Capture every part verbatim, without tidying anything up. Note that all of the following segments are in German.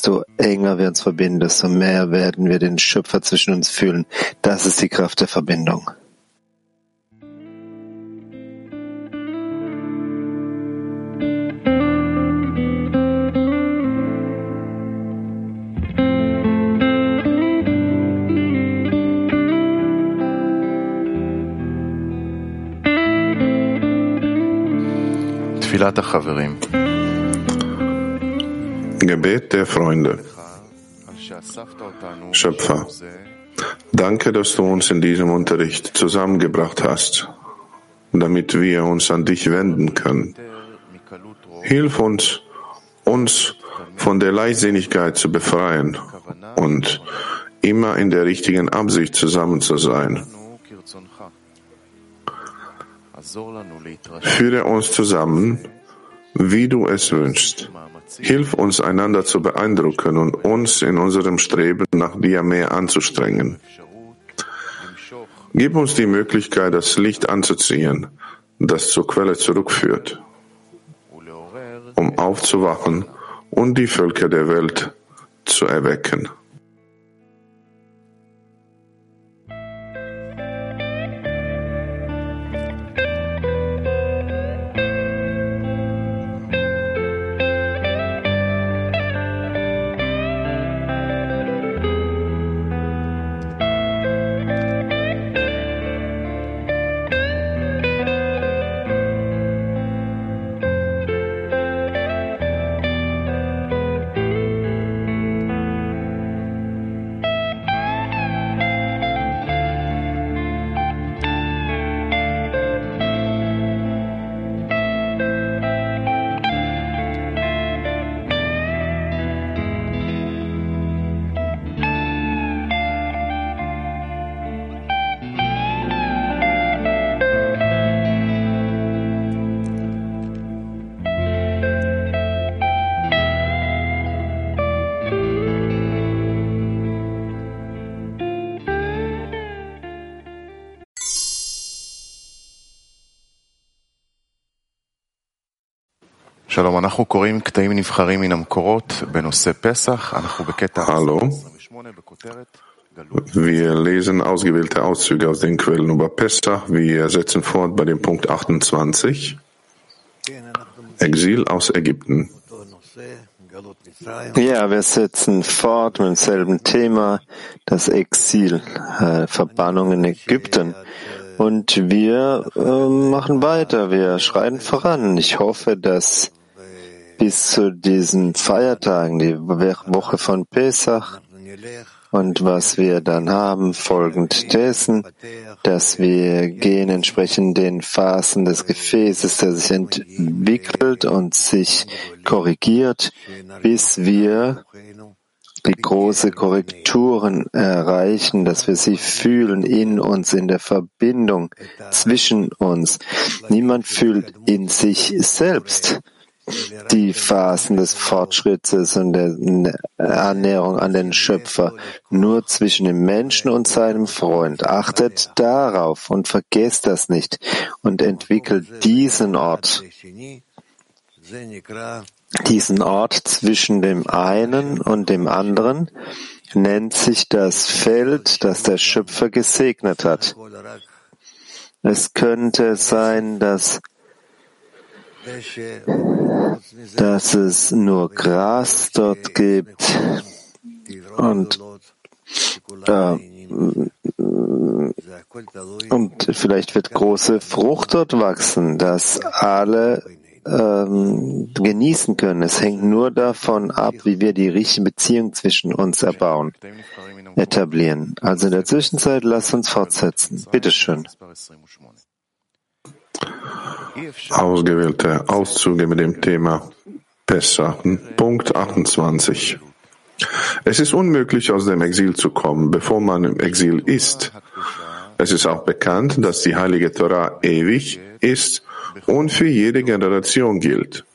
desto enger wir uns verbinden, desto mehr werden wir den Schöpfer zwischen uns fühlen. Das ist die Kraft der Verbindung. Gebet der Freunde. Schöpfer, danke, dass du uns in diesem Unterricht zusammengebracht hast, damit wir uns an dich wenden können. Hilf uns, uns von der Leichtsinnigkeit zu befreien und immer in der richtigen Absicht zusammen zu sein. Führe uns zusammen, wie du es wünschst. Hilf uns, einander zu beeindrucken und uns in unserem Streben nach dir mehr anzustrengen. Gib uns die Möglichkeit, das Licht anzuziehen, das zur Quelle zurückführt, um aufzuwachen und die Völker der Welt zu erwecken. Hallo. Wir lesen ausgewählte Auszüge aus den Quellen über Pessach. Wir setzen fort bei dem Punkt achtundzwanzig. Exil aus Ägypten. Ja, wir setzen fort mit demselben Thema, das Exil, äh, Verbannung in Ägypten. Und wir äh, machen weiter, wir schreiten voran. Ich hoffe, dass bis zu diesen Feiertagen, die Woche von Pesach, und was wir dann haben, folgend dessen, dass wir gehen entsprechend den Phasen des Gefäßes, der sich entwickelt und sich korrigiert, bis wir die große Korrekturen erreichen, dass wir sie fühlen in uns, in der Verbindung zwischen uns. Niemand fühlt in sich selbst die Phasen des Fortschrittes und der Annäherung an den Schöpfer, nur zwischen dem Menschen und seinem Freund. Achtet darauf und vergesst das nicht und entwickelt diesen Ort, diesen Ort zwischen dem einen und dem anderen, nennt sich das Feld, das der Schöpfer gesegnet hat. Es könnte sein, dass dass es nur Gras dort gibt und, äh, und vielleicht wird große Frucht dort wachsen, dass alle ähm, genießen können. Es hängt nur davon ab, wie wir die richtige Beziehung zwischen uns erbauen, etablieren. Also in der Zwischenzeit, lasst uns fortsetzen. Bitteschön. Ausgewählte Auszüge mit dem Thema Pessach, Punkt achtundzwanzig. Es ist unmöglich, aus dem Exil zu kommen, bevor man im Exil ist. Es ist auch bekannt, dass die heilige Torah ewig ist und für jede Generation gilt.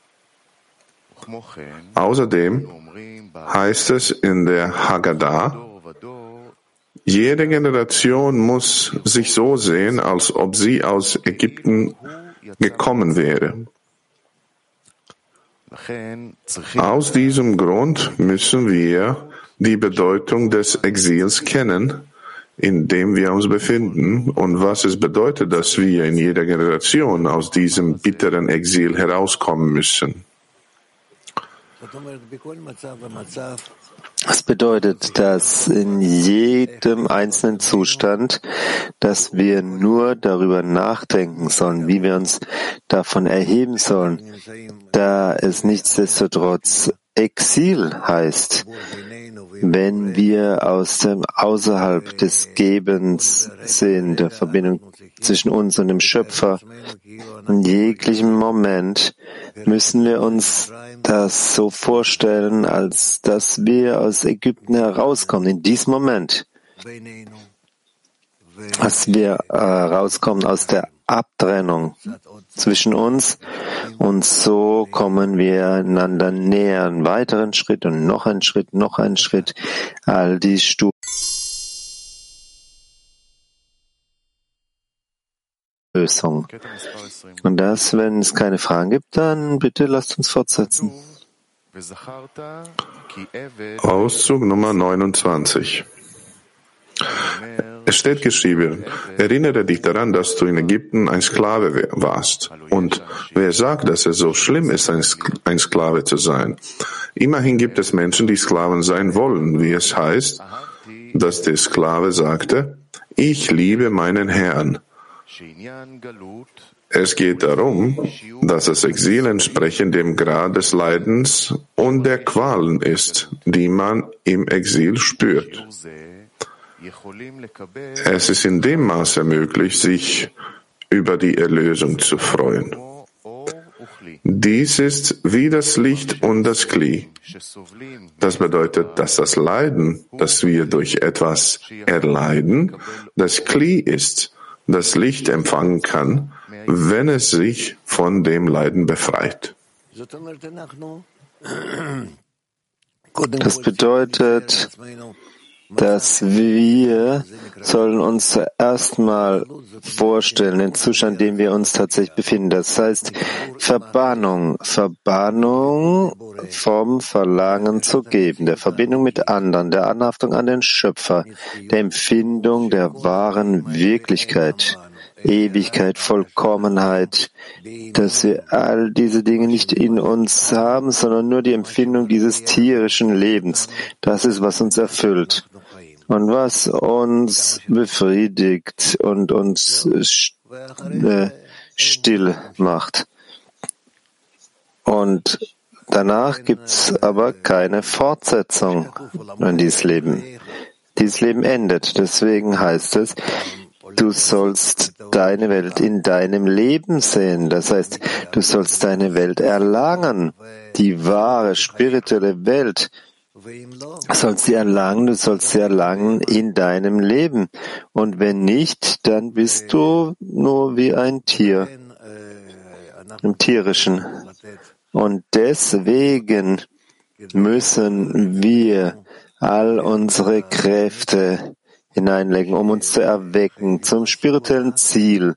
Außerdem heißt es in der Haggadah, jede Generation muss sich so sehen, als ob sie aus Ägypten gekommen wäre. Aus diesem Grund müssen wir die Bedeutung des Exils kennen, in dem wir uns befinden, und was es bedeutet, dass wir in jeder Generation aus diesem bitteren Exil herauskommen müssen. Das bedeutet, dass in jedem einzelnen Zustand, dass wir nur darüber nachdenken sollen, wie wir uns davon erheben sollen, da es nichtsdestotrotz Exil heißt, wenn wir aus dem außerhalb des Gebens sind, der Verbindung zwischen uns und dem Schöpfer. In jeglichem Moment müssen wir uns das so vorstellen, als dass wir aus Ägypten herauskommen. In diesem Moment, als wir äh, rauskommen aus der Abtrennung zwischen uns, und so kommen wir einander näher, einen weiteren Schritt und noch einen Schritt, noch einen Schritt, all die Stufen. Lösung. Und das, wenn es keine Fragen gibt, dann bitte lasst uns fortsetzen. Auszug Nummer neunundzwanzig. Es steht geschrieben, erinnere dich daran, dass du in Ägypten ein Sklave warst. Und wer sagt, dass es so schlimm ist, ein Sklave zu sein? Immerhin gibt es Menschen, die Sklaven sein wollen, wie es heißt, dass der Sklave sagte, ich liebe meinen Herrn. Es geht darum, dass das Exil entsprechend dem Grad des Leidens und der Qualen ist, die man im Exil spürt. Es ist in dem Maße möglich, sich über die Erlösung zu freuen. Dies ist wie das Licht und das Kli. Das bedeutet, dass das Leiden, das wir durch etwas erleiden, das Kli ist, das Licht empfangen kann, wenn es sich von dem Leiden befreit. Das bedeutet, dass wir sollen uns zuerst mal vorstellen, den Zustand, in dem wir uns tatsächlich befinden. Das heißt Verbannung, Verbannung vom Verlangen zu geben, der Verbindung mit anderen, der Anhaftung an den Schöpfer, der Empfindung der wahren Wirklichkeit, Ewigkeit, Vollkommenheit, dass wir all diese Dinge nicht in uns haben, sondern nur die Empfindung dieses tierischen Lebens. Das ist, was uns erfüllt und was uns befriedigt und uns still macht. Und danach gibt's aber keine Fortsetzung in dieses Leben. Dieses Leben endet. Deswegen heißt es, du sollst deine Welt in deinem Leben sehen. Das heißt, du sollst deine Welt erlangen. Die wahre spirituelle Welt. Du sollst sie erlangen, du sollst sie erlangen in deinem Leben. Und wenn nicht, dann bist du nur wie ein Tier, im Tierischen. Und deswegen müssen wir all unsere Kräfte hineinlegen, um uns zu erwecken zum spirituellen Ziel,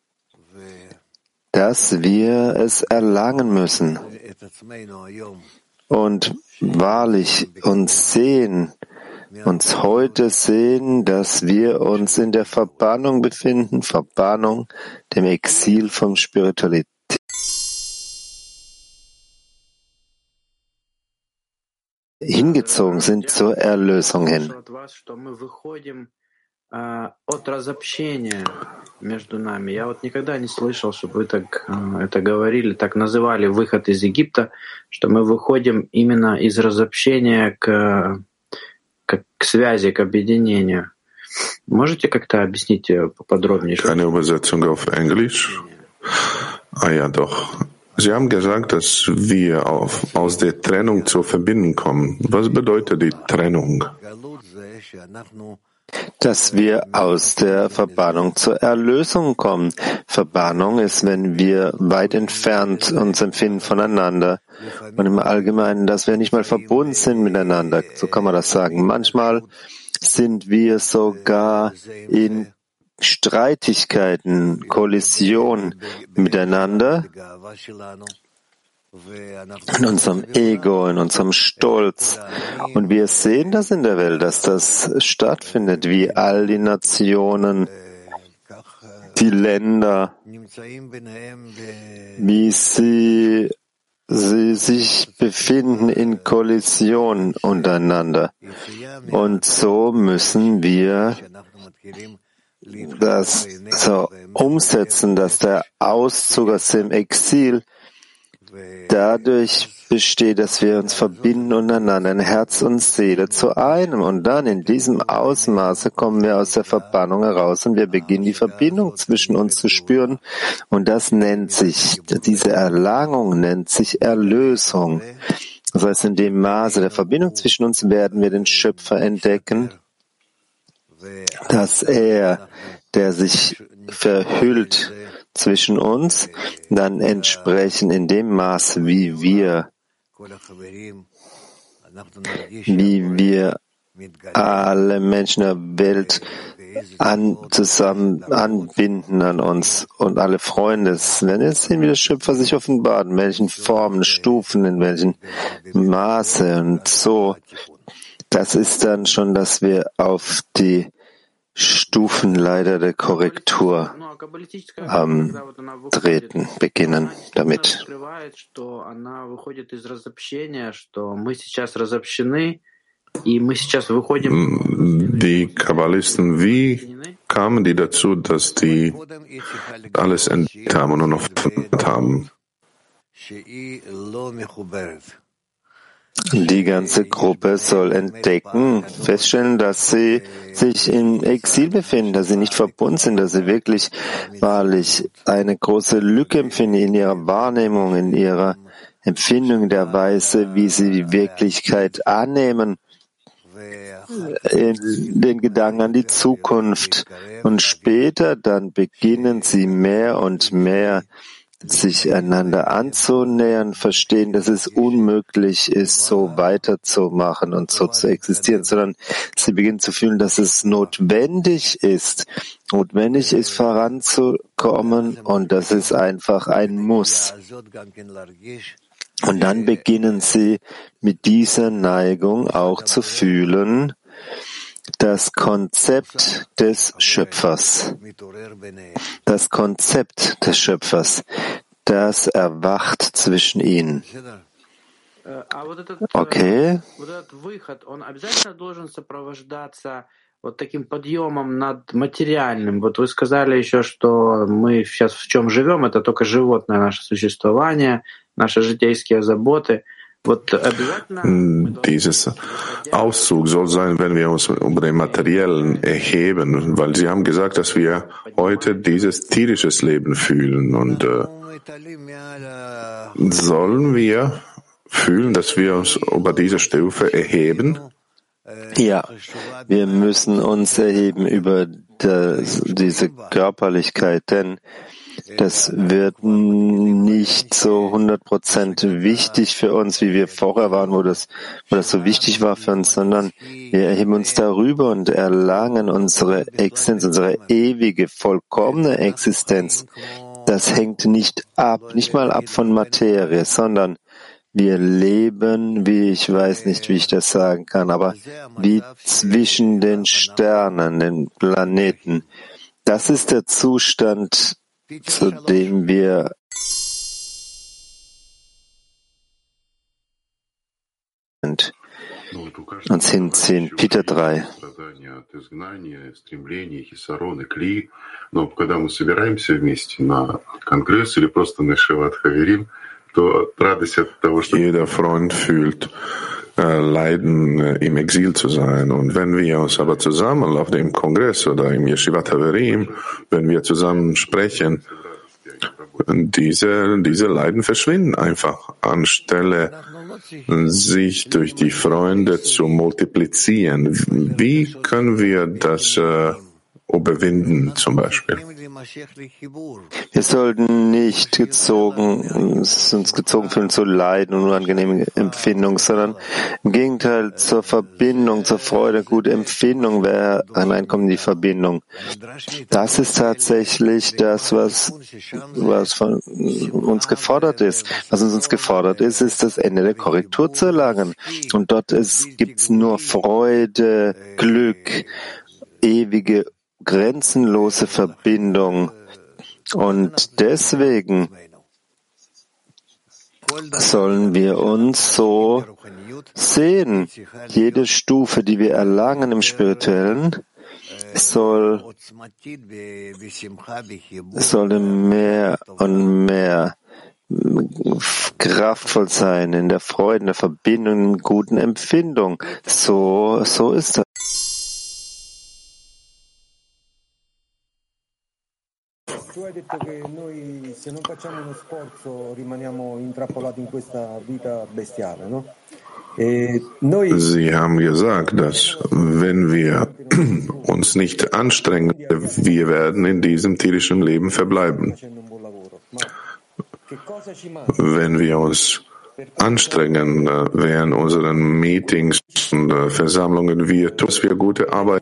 dass wir es erlangen müssen. Und wahrlich uns sehen, uns heute sehen, dass wir uns in der Verbannung befinden, Verbannung, dem Exil vom Spiritualität. Hingezogen sind zur Erlösung hin. От разобщения между нами. Я вот никогда не слышал, чтобы вы так это говорили, так называли выход из Египта, что мы выходим именно из разобщения к, к, к связи, к объединению. Можете как-то объяснить поподробнее? Eine Übersetzung auf Englisch? Ah ja, doch. Sie haben gesagt, dass wir auf, aus der Trennung zur Verbindung kommen. Was bedeutet die Trennung? Dass wir aus der Verbannung zur Erlösung kommen. Verbannung ist, wenn wir weit entfernt uns empfinden voneinander und im Allgemeinen, dass wir nicht mal verbunden sind miteinander. So kann man das sagen. Manchmal sind wir sogar in Streitigkeiten, Kollision miteinander, in unserem Ego, in unserem Stolz. Und wir sehen das in der Welt, dass das stattfindet, wie all die Nationen, die Länder, wie sie, sie sich befinden in Kollision untereinander. Und so müssen wir das so umsetzen, dass der Auszug aus dem Exil dadurch besteht, dass wir uns verbinden untereinander, in Herz und Seele zu einem. Und dann in diesem Ausmaße kommen wir aus der Verbannung heraus und wir beginnen die Verbindung zwischen uns zu spüren. Und das nennt sich, diese Erlangung nennt sich Erlösung. Das heißt, in dem Maße der Verbindung zwischen uns werden wir den Schöpfer entdecken, dass er, der sich verhüllt zwischen uns, dann entsprechen in dem Maß, wie wir, wie wir alle Menschen der Welt an, zusammen anbinden an uns und alle Freunde. Wenn wir sehen, wie der Schöpfer sich offenbart, in welchen Formen, Stufen, in welchen Maße und so, das ist dann schon, dass wir auf die Stufenleiter der Korrektur ähm, treten, beginnen damit. Die Kabbalisten, wie kamen die dazu, dass die alles entdeckt haben und noch haben? Die ganze Gruppe soll entdecken, feststellen, dass sie sich im Exil befinden, dass sie nicht verbunden sind, dass sie wirklich wahrlich eine große Lücke empfinden in ihrer Wahrnehmung, in ihrer Empfindung der Weise, wie sie die Wirklichkeit annehmen, in den Gedanken an die Zukunft. Und später dann beginnen sie mehr und mehr sich einander anzunähern, verstehen, dass es unmöglich ist, so weiterzumachen und so zu existieren, sondern sie beginnen zu fühlen, dass es notwendig ist, notwendig ist, voranzukommen und das ist einfach ein Muss. Und dann beginnen sie mit dieser Neigung auch zu fühlen, das Konzept des Schöpfers, das Konzept des Schöpfers, das erwacht zwischen ihnen. Okay? Вот таким подъемом над материальным. Вот вы сказали еще, что мы сейчас в чем живем, это только животное наше существование, наши житейские заботы. Dieses Auszug soll sein, wenn wir uns über den Materiellen erheben, weil Sie haben gesagt, dass wir heute dieses tierisches Leben fühlen. Und äh, sollen wir fühlen, dass wir uns über diese Stufe erheben? Ja, wir müssen uns erheben über das, diese Körperlichkeit, denn das wird nicht so hundert Prozent wichtig für uns, wie wir vorher waren, wo das, wo das so wichtig war für uns, sondern wir erheben uns darüber und erlangen unsere Existenz, unsere ewige, vollkommene Existenz. Das hängt nicht ab, nicht mal ab von Materie, sondern wir leben, wie ich weiß nicht, wie ich das sagen kann, aber wie zwischen den Sternen, den Planeten. Das ist der Zustand, zu dem wir sind, uns hinziehen. Peter drei. Jeder Freund fühlt äh, Leiden, äh, im Exil zu sein. Und wenn wir uns aber zusammen auf dem Kongress oder im Yeshivat Haverim, wenn wir zusammen sprechen, diese, diese Leiden verschwinden einfach, anstelle sich durch die Freunde zu multiplizieren. Wie können wir das äh, überwinden, zum Beispiel. Wir sollten nicht gezogen, uns gezogen fühlen zu Leiden und unangenehme Empfindungen, sondern im Gegenteil zur Verbindung, zur Freude, gute Empfindung, wer hineinkommt in die Verbindung. Das ist tatsächlich das, was, was von uns gefordert ist. Was uns gefordert ist, ist das Ende der Korrektur zu erlangen. Und dort gibt es nur Freude, Glück, ewige grenzenlose Verbindung. Und deswegen sollen wir uns so sehen. Jede Stufe, die wir erlangen im Spirituellen, soll, soll mehr und mehr kraftvoll sein in der Freude, in der Verbindung, in guten Empfindung. So, so ist das. Tu hai detto che noi se non facciamo uno sforzo rimaniamo intrappolati in questa vita bestiale, no? Sie haben gesagt, dass wenn wir uns nicht anstrengen, wir werden in diesem tierischen Leben verbleiben. Wenn wir uns anstrengen während unseren Meetings und Versammlungen, wir tun, dass wir gute Arbeit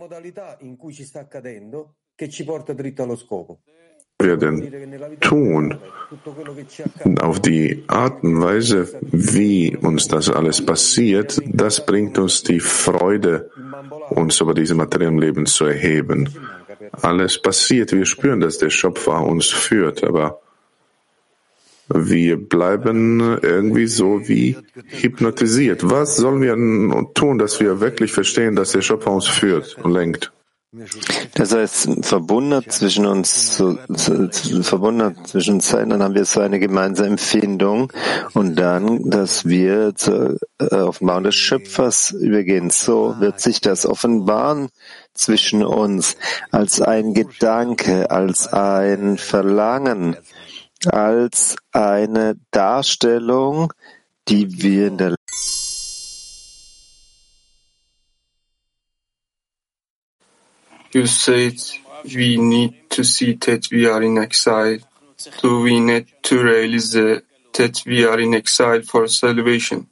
werden tun, auf die Art und Weise, wie uns das alles passiert, das bringt uns die Freude, uns über diese materiellen Leben zu erheben. Alles passiert, wir spüren, dass der Schöpfer uns führt, aber wir bleiben irgendwie so wie hypnotisiert. Was sollen wir tun, dass wir wirklich verstehen, dass der Schöpfer uns führt und lenkt? Das heißt, verbunden zwischen uns, so, verbunden zwischen uns sein, dann haben wir so eine gemeinsame Empfindung und dann, dass wir zur Offenbarung des Schöpfers übergehen. So wird sich das offenbaren zwischen uns als ein Gedanke, als ein Verlangen, als eine Darstellung, die wir in der You said we need to see that we are in exile. Do we need to realize that we are in exile for salvation?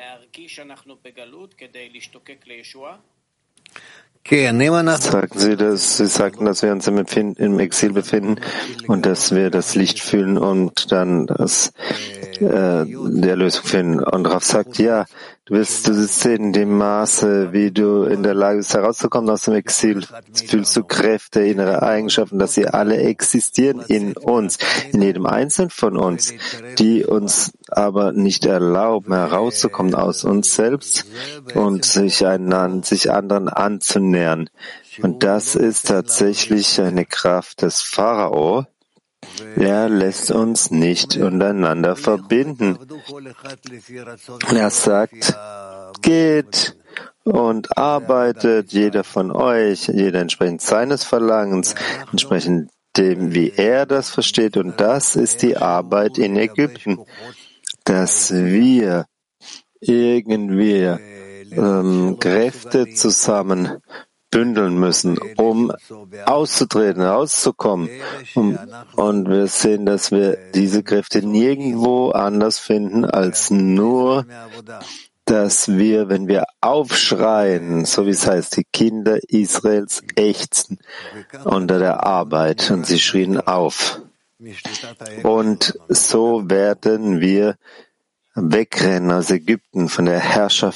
Sagten Sie, dass Sie sagten, dass wir uns im, Empfinden, im Exil befinden und dass wir das Licht fühlen und dann das, äh, die Erlösung finden. Und Rav sagt, ja, du wirst du sehen, in dem Maße, wie du in der Lage bist, herauszukommen aus dem Exil, fühlst du Kräfte, innere Eigenschaften, dass sie alle existieren in uns, in jedem Einzelnen von uns, die uns aber nicht erlauben, herauszukommen aus uns selbst und sich einander, sich anderen anzunähern. Und das ist tatsächlich eine Kraft des Pharao. Er lässt uns nicht untereinander verbinden. Er sagt, geht und arbeitet, jeder von euch, jeder entsprechend seines Verlangens, entsprechend dem, wie er das versteht. Und das ist die Arbeit in Ägypten, dass wir irgendwie ähm, Kräfte zusammen bündeln müssen, um auszutreten, rauszukommen. Um, und wir sehen, dass wir diese Kräfte nirgendwo anders finden, als nur, dass wir, wenn wir aufschreien, so wie es heißt, die Kinder Israels ächzen unter der Arbeit und sie schrien auf. Und so werden wir wegrennen aus Ägypten von der Herrschaft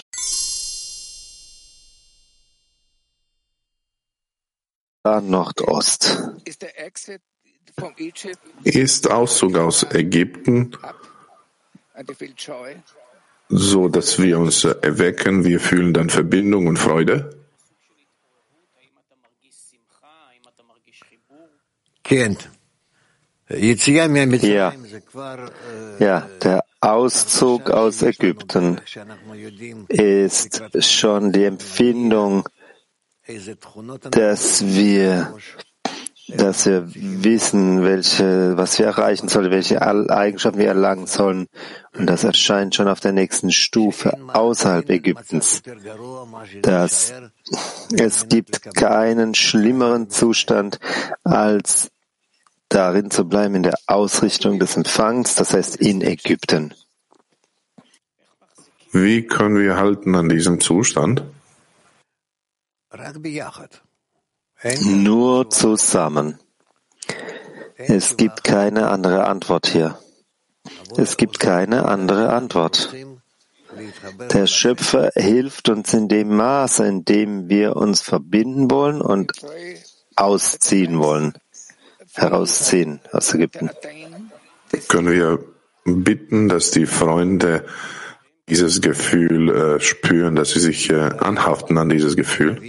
Nordost. Ist Auszug aus Ägypten so, dass wir uns erwecken, wir fühlen dann Verbindung und Freude? Ja, ja, der Auszug aus Ägypten ist schon die Empfindung, dass wir dass wir wissen, welche, was wir erreichen sollen, welche Eigenschaften wir erlangen sollen. Und das erscheint schon auf der nächsten Stufe außerhalb Ägyptens. Dass es gibt keinen schlimmeren Zustand, als darin zu bleiben in der Ausrichtung des Empfangs, das heißt in Ägypten. Wie können wir halten an diesem Zustand? Nur zusammen. Es gibt keine andere Antwort hier. Es gibt keine andere Antwort. Der Schöpfer hilft uns in dem Maße, in dem wir uns verbinden wollen und ausziehen wollen, herausziehen aus Ägypten. Können wir bitten, dass die Freunde dieses Gefühl äh, spüren, dass sie sich äh, anhaften an dieses Gefühl?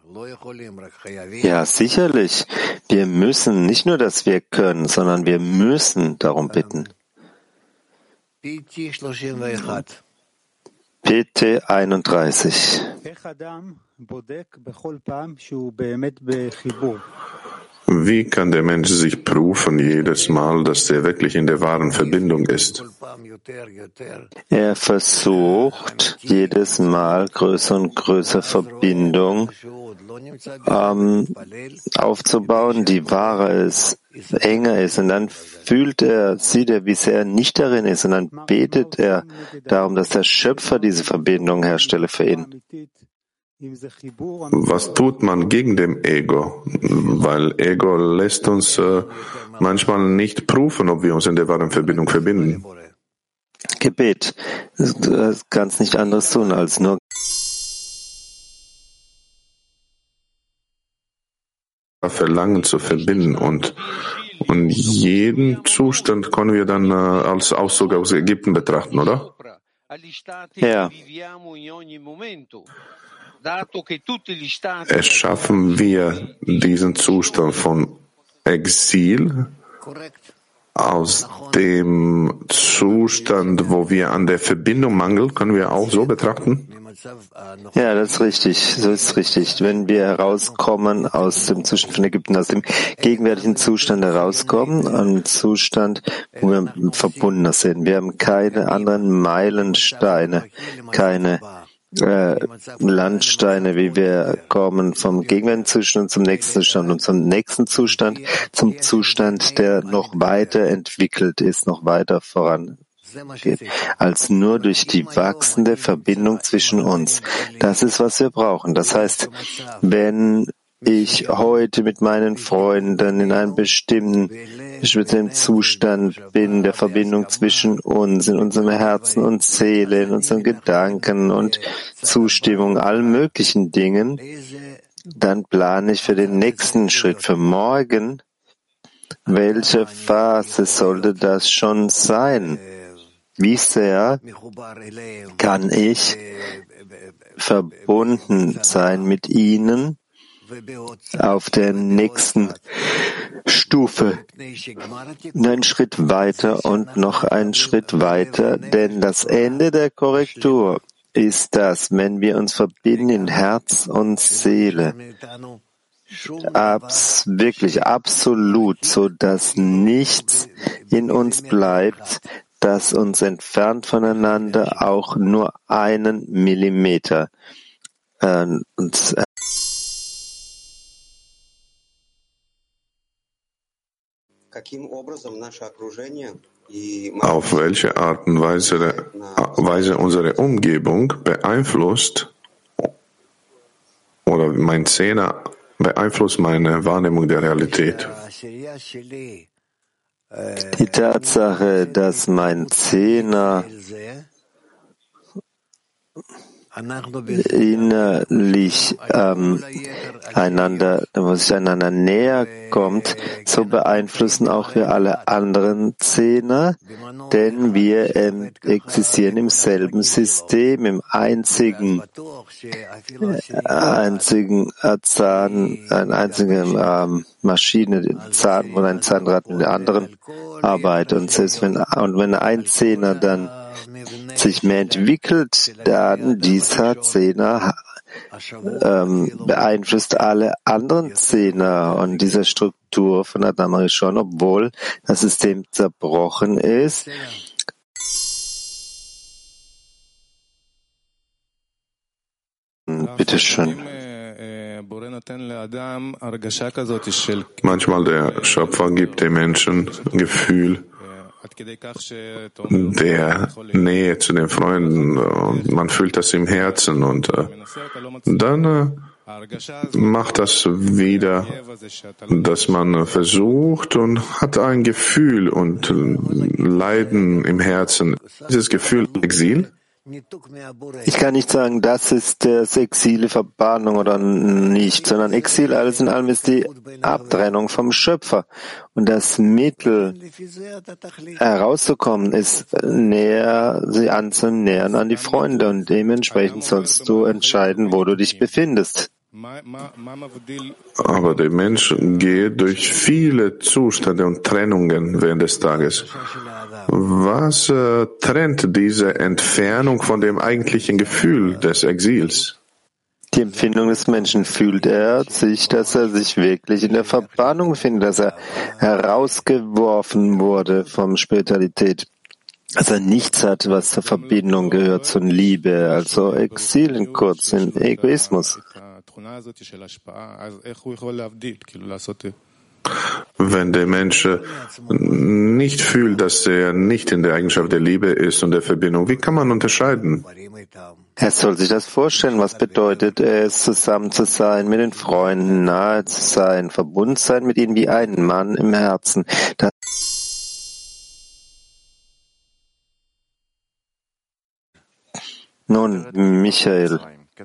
Ja, sicherlich. Wir müssen, nicht nur, dass wir können, sondern wir müssen darum bitten. P T einunddreißig. Wie kann der Mensch sich prüfen jedes Mal, dass er wirklich in der wahren Verbindung ist? Er versucht jedes Mal größer und größer Verbindung ähm, aufzubauen, die wahrer ist, enger ist. Und dann fühlt er, sieht er, wie sehr er nicht darin ist. Und dann betet er darum, dass der Schöpfer diese Verbindung herstelle für ihn. Was tut man gegen dem Ego? Weil Ego lässt uns äh, manchmal nicht prüfen, ob wir uns in der wahren Verbindung verbinden. Gebet. Du kannst nicht anderes tun, als nur Verlangen zu verbinden. Und, und jeden Zustand können wir dann äh, als Auszug aus Ägypten betrachten, oder? Ja. Erschaffen wir diesen Zustand von Exil aus dem Zustand, wo wir an der Verbindung mangeln, können wir auch so betrachten? Ja, das ist richtig. So ist es richtig. Wenn wir herauskommen aus dem Zustand von Ägypten, aus dem gegenwärtigen Zustand herauskommen, einen Zustand, wo wir verbundener sind. Wir haben keine anderen Meilensteine, keine Äh, Landsteine, wie wir kommen vom gegenwärtigen Zustand zum nächsten Zustand und zum nächsten Zustand, zum Zustand, der noch weiter entwickelt ist, noch weiter vorangeht, als nur durch die wachsende Verbindung zwischen uns. Das ist, was wir brauchen. Das heißt, wenn ich heute mit meinen Freunden in einem bestimmten, bestimmten Zustand bin, der Verbindung zwischen uns, in unserem Herzen und Seele, in unseren Gedanken und Zustimmung, allen möglichen Dingen, dann plane ich für den nächsten Schritt, für morgen. Welche Phase sollte das schon sein? Wie sehr kann ich verbunden sein mit ihnen auf der nächsten Stufe, einen Schritt weiter und noch einen Schritt weiter, denn das Ende der Korrektur ist das, wenn wir uns verbinden in Herz und Seele, Abs, wirklich absolut, so dass nichts in uns bleibt, das uns entfernt voneinander auch nur einen Millimeter äh, uns Auf welche Art und Weise, Weise unsere Umgebung beeinflusst oder mein Zehner beeinflusst meine Wahrnehmung der Realität? Die Tatsache, dass mein Zehner innerlich ähm, einander, wo sich einander näher kommt, so beeinflussen auch wir alle anderen Zehner, denn wir ähm, existieren im selben System, im einzigen, einzigen äh, Zahn, eine einzige ähm, Maschine, Zahn und ein Zahnrad in der anderen arbeitet. Und selbst wenn, und wenn ein Zehner dann sich mehr entwickelt, dann dieser Zehner ähm, beeinflusst alle anderen Zehner und diese Struktur von Adam Rishon, obwohl das System zerbrochen ist. Bitte schön. Manchmal der Schöpfer gibt dem Menschen ein Gefühl der Nähe zu den Freunden und man fühlt das im Herzen und äh, dann äh, macht das wieder, dass man versucht und hat ein Gefühl und äh, Leiden im Herzen. Dieses Gefühl Exil? Ich kann nicht sagen, das ist das Exil, Verbannung oder nicht, sondern Exil, alles in allem, ist die Abtrennung vom Schöpfer. Und das Mittel, herauszukommen, ist näher, sie anzunähern an die Freunde. Und dementsprechend sollst du entscheiden, wo du dich befindest. Aber der Mensch geht durch viele Zustände und Trennungen während des Tages. Was äh, trennt diese Entfernung von dem eigentlichen Gefühl des Exils? Die Empfindung des Menschen. Fühlt er sich, dass er sich wirklich in der Verbannung befindet, dass er herausgeworfen wurde von Spiritualität, dass er nichts hat, was zur Verbindung gehört, zur Liebe, also Exil in kurz, in Egoismus. Wenn der Mensch nicht fühlt, dass er nicht in der Eigenschaft der Liebe ist und der Verbindung, wie kann man unterscheiden? Er soll sich das vorstellen, was bedeutet es, zusammen zu sein, mit den Freunden nahe zu sein, verbunden sein mit ihnen wie ein Mann im Herzen. Das Nun, Michael.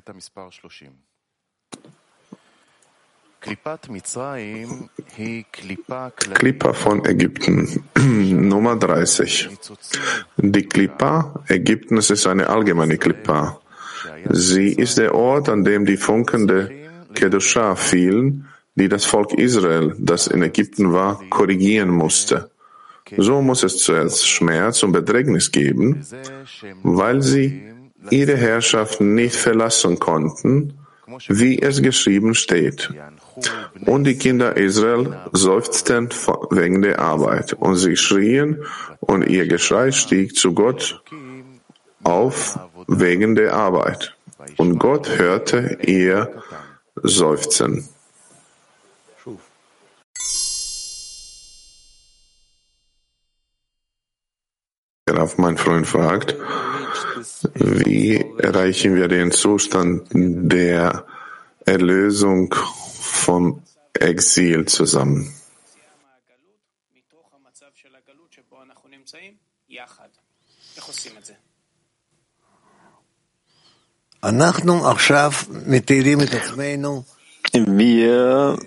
Klippa von Ägypten, Nummer dreißig. Die Klippa Ägyptens ist eine allgemeine Klippa. Sie ist der Ort, an dem die Funken der Kedusha fielen, die das Volk Israel, das in Ägypten war, korrigieren musste. So muss es zuerst Schmerz und Bedrängnis geben, weil sie ihre Herrschaft nicht verlassen konnten, wie es geschrieben steht. Und die Kinder Israel seufzten wegen der Arbeit, und sie schrien, und ihr Geschrei stieg zu Gott auf wegen der Arbeit. Und Gott hörte ihr Seufzen. Darauf mein Freund fragt, wie erreichen wir den Zustand der Erlösung vom Exil zusammen? Wir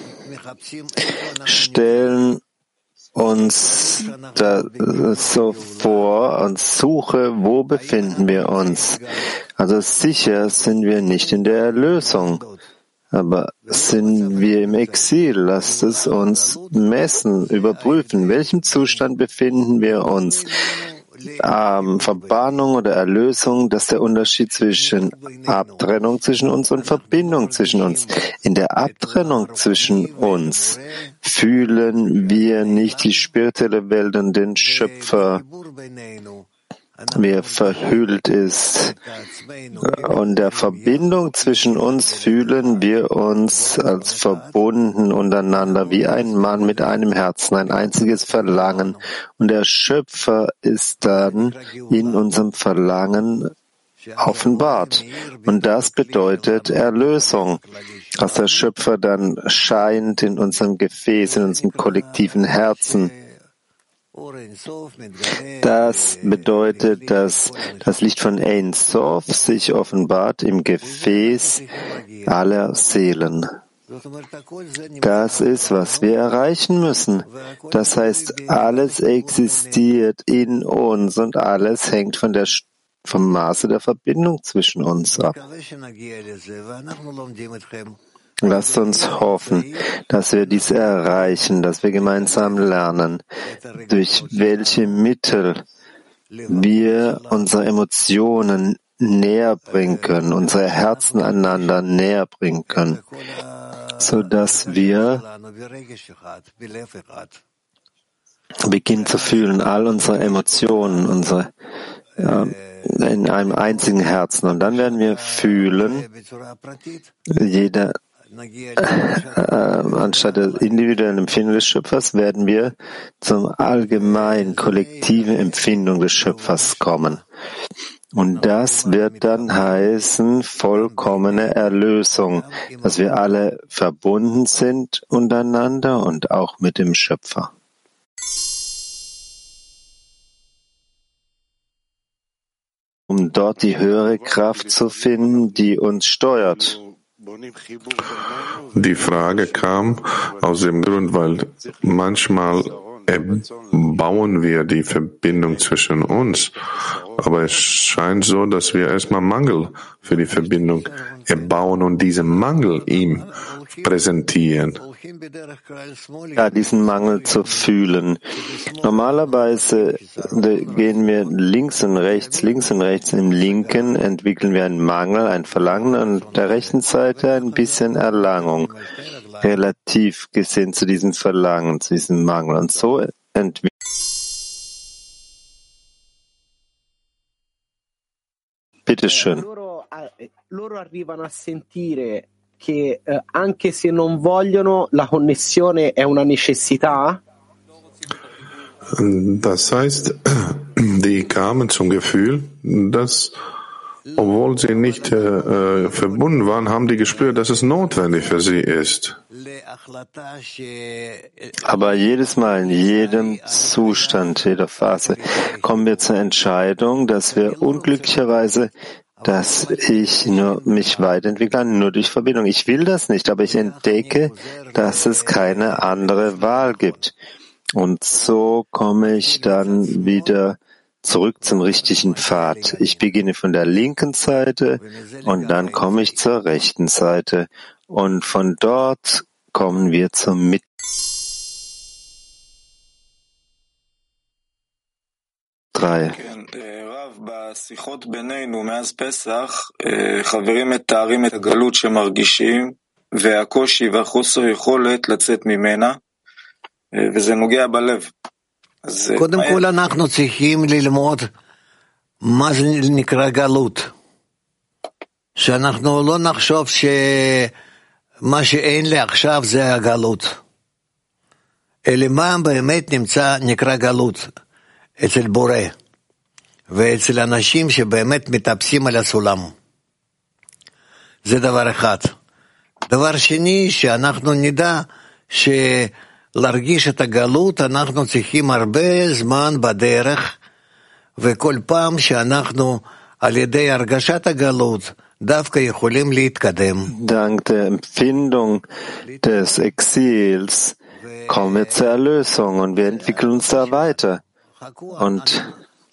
stellen uns da so vor und suche, wo befinden wir uns. Also sicher sind wir nicht in der Erlösung, aber sind wir im Exil. Lasst es uns messen, überprüfen, in welchem Zustand befinden wir uns. Ähm, Verbannung oder Erlösung, das ist der Unterschied zwischen Abtrennung zwischen uns und Verbindung zwischen uns. In der Abtrennung zwischen uns fühlen wir nicht die spirituelle Welt und den Schöpfer, wie er verhüllt ist. Und der Verbindung zwischen uns fühlen wir uns als verbunden untereinander, wie ein Mann mit einem Herzen, ein einziges Verlangen. Und der Schöpfer ist dann in unserem Verlangen offenbart. Und das bedeutet Erlösung, dass der Schöpfer dann scheint in unserem Gefäß, in unserem kollektiven Herzen. Das bedeutet, dass das Licht von Ein Sof sich offenbart im Gefäß aller Seelen. Das ist, was wir erreichen müssen. Das heißt, alles existiert in uns und alles hängt von der, vom Maße der Verbindung zwischen uns ab. Lasst uns hoffen, dass wir dies erreichen, dass wir gemeinsam lernen, durch welche Mittel wir unsere Emotionen näher bringen können, unsere Herzen einander näher bringen können, so dass wir beginnen zu fühlen, all unsere Emotionen, unsere ja, in einem einzigen Herzen. Und dann werden wir fühlen, jeder äh, anstatt der individuellen Empfindung des Schöpfers werden wir zum allgemeinen kollektiven Empfindung des Schöpfers kommen. Und das wird dann heißen vollkommene Erlösung, dass wir alle verbunden sind untereinander und auch mit dem Schöpfer. Um dort die höhere Kraft zu finden, die uns steuert. Die Frage kam aus dem Grund, weil manchmal bauen wir die Verbindung zwischen uns, aber es scheint so, dass wir erstmal Mangel für die Verbindung erbauen und diesen Mangel ihm präsentieren. Ja, diesen Mangel zu fühlen. Normalerweise gehen wir links und rechts, links und rechts. Im Linken entwickeln wir einen Mangel, ein Verlangen, und auf der rechten Seite ein bisschen Erlangung, relativ gesehen zu diesem Verlangen, zu diesem Mangel. Und so entwickeln Bitte schön. Loro arrivano a sentire che eh, anche se non vogliono, la connessione è una necessità? Das heißt, die kamen zum Gefühl, dass, obwohl sie nicht äh, verbunden waren, haben die gespürt, dass es notwendig für sie ist. Aber jedes Mal, in jedem Zustand, jeder Phase, kommen wir zur Entscheidung, dass wir unglücklicherweise, dass ich nur mich weiterentwickle, nur durch Verbindung. Ich will das nicht, aber ich entdecke, dass es keine andere Wahl gibt. Und so komme ich dann wieder zurück zum richtigen Pfad. Ich beginne von der linken Seite und dann komme ich zur rechten Seite. Und von dort kommen wir zur Mitte. Drei. בשיחות בינינו מאז פסח, חברים מתארים את הגלות שמרגישים והקושי והחוסר יכולת לצאת ממנה, וזה נוגע בלב. קודם כל אנחנו צריכים ללמוד מה זה נקרא גלות. שאנחנו לא נחשוב שמה שאין לי עכשיו זה הגלות. אלא מה באמת נמצא נקרא גלות אצל בורא. ואצל אנשים שבאמת מטפסים על הסולם. זה דבר אחד. דבר שני, שאנחנו נדע שלהרגיש את הגלות, אנחנו צריכים הרבה זמן בדרך, וכל פעם שאנחנו על ידי הרגשת הגלות, דווקא יכולים להתקדם. Dank der Empfindung des Exils kommen wir zur Erlösung und wir entwickeln uns da weiter. Und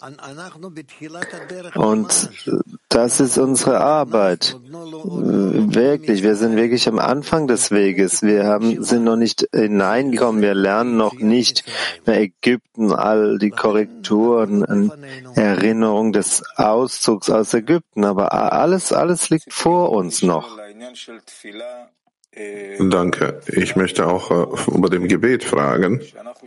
Und das ist unsere Arbeit. Wirklich, wir sind wirklich am Anfang des Weges. Wir haben, sind noch nicht hineingekommen. Wir lernen noch nicht mehr Ägypten, all die Korrekturen, Erinnerung des Auszugs aus Ägypten. Aber alles, alles liegt vor uns noch. Danke. Ich möchte auch äh, über dem Gebet fragen.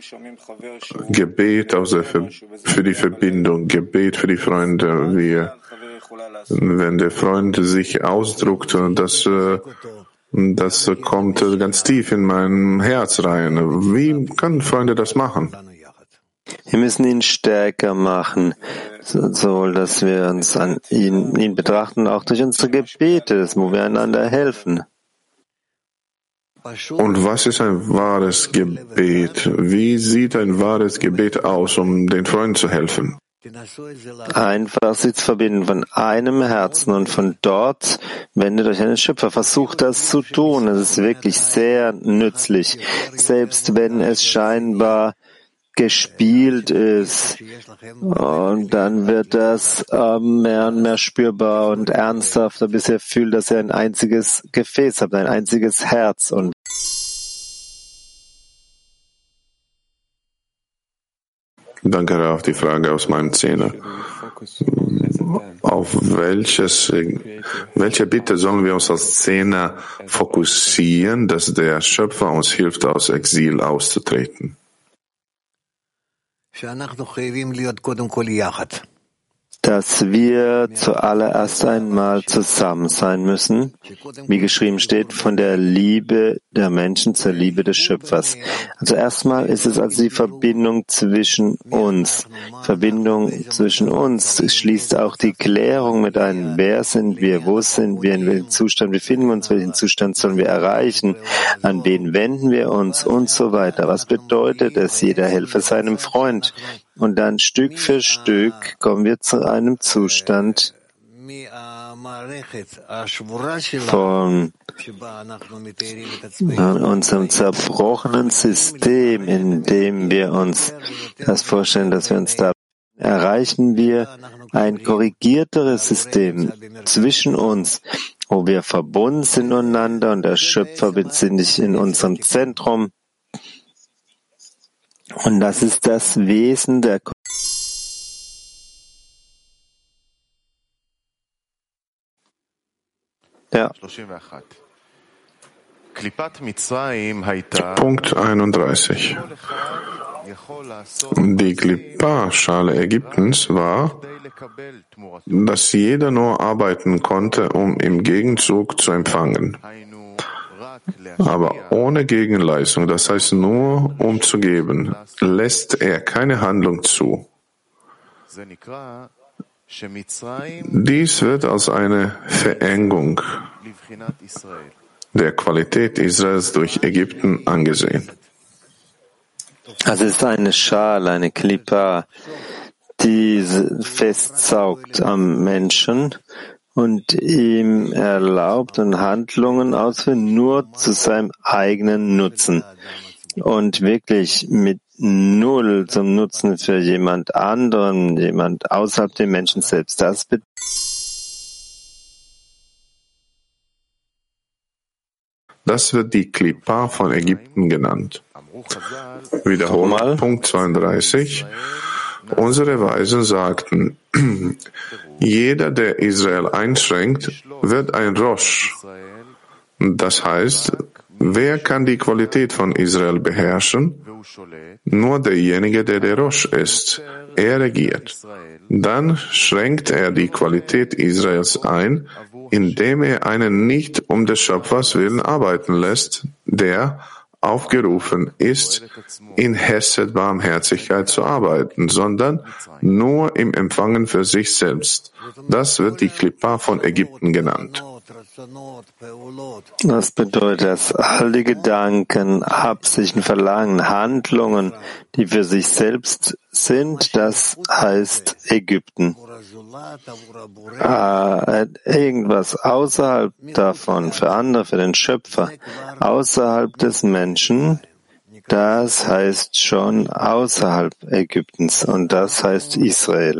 Gebet aus der Ver- für die Verbindung, Gebet für die Freunde. Wir, wenn der Freund sich ausdruckt, das, äh, das kommt ganz tief in mein Herz rein. Wie können Freunde das machen? Wir müssen ihn stärker machen, so dass wir uns an ihn, ihn betrachten, auch durch unsere Gebete, wo wir einander helfen. Und was ist ein wahres Gebet? Wie sieht ein wahres Gebet aus, um den Freunden zu helfen? Einfach sich zu verbinden von einem Herzen und von dort wendet euch an den Schöpfer. Versucht das zu tun. Es ist wirklich sehr nützlich. Selbst wenn es scheinbar gespielt ist, und dann wird das ähm, mehr und mehr spürbar und ernsthafter, bis ihr fühlt, dass ihr ein einziges Gefäß habt, ein einziges Herz. Und Danke auf die Frage aus meinem Zehner. Auf welches, welche Bitte sollen wir uns als Zehner fokussieren, dass der Schöpfer uns hilft, aus Exil auszutreten? Dass wir zuallererst einmal zusammen sein müssen, wie geschrieben steht, von der Liebe der Menschen zur Liebe des Schöpfers. Also erstmal ist es also die Verbindung zwischen uns. Verbindung zwischen uns schließt auch die Klärung mit ein. Wer sind wir? Wo sind wir? In welchem Zustand befinden wir uns? Welchen Zustand sollen wir erreichen? An wen wenden wir uns? Und so weiter. Was bedeutet es? Jeder helfe seinem Freund. Und dann Stück für Stück kommen wir zu einem Zustand von unserem zerbrochenen System, in dem wir uns das vorstellen, dass wir uns da erreichen wir ein korrigierteres System zwischen uns, wo wir verbunden sind untereinander und der Schöpfer befindet sich in unserem Zentrum. Und das ist das Wesen der Ja. Punkt einunddreißig. Die Klippa-Schale Ägyptens war, dass jeder nur arbeiten konnte, um im Gegenzug zu empfangen. Aber ohne Gegenleistung, das heißt nur um zu geben, lässt er keine Handlung zu. Dies wird als eine Verengung der Qualität Israels durch Ägypten angesehen. Also es ist eine Schale, eine Klippa, die festsaugt am Menschen und ihm erlaubt und Handlungen ausführen nur zu seinem eigenen Nutzen und wirklich mit null zum Nutzen für jemand anderen, jemand außerhalb dem Menschen selbst. Das bedeutet, das wird die Klippa von Ägypten genannt. Wiederholt, Punkt zweiunddreißig. Unsere Weisen sagten, jeder, der Israel einschränkt, wird ein Rosh. Das heißt, wer kann die Qualität von Israel beherrschen? Nur derjenige, der der Rosh ist. Er regiert. Dann schränkt er die Qualität Israels ein, indem er einen nicht um des Schöpfers willen arbeiten lässt, der aufgerufen ist, in Hesed Barmherzigkeit zu arbeiten, sondern nur im Empfangen für sich selbst. Das wird die Klippa von Ägypten genannt. Das bedeutet, dass all die Gedanken, Absichten, Verlangen, Handlungen, die für sich selbst sind, das heißt Ägypten. Ah, irgendwas außerhalb davon, für andere, für den Schöpfer, außerhalb des Menschen, das heißt schon außerhalb Ägyptens und das heißt Israel.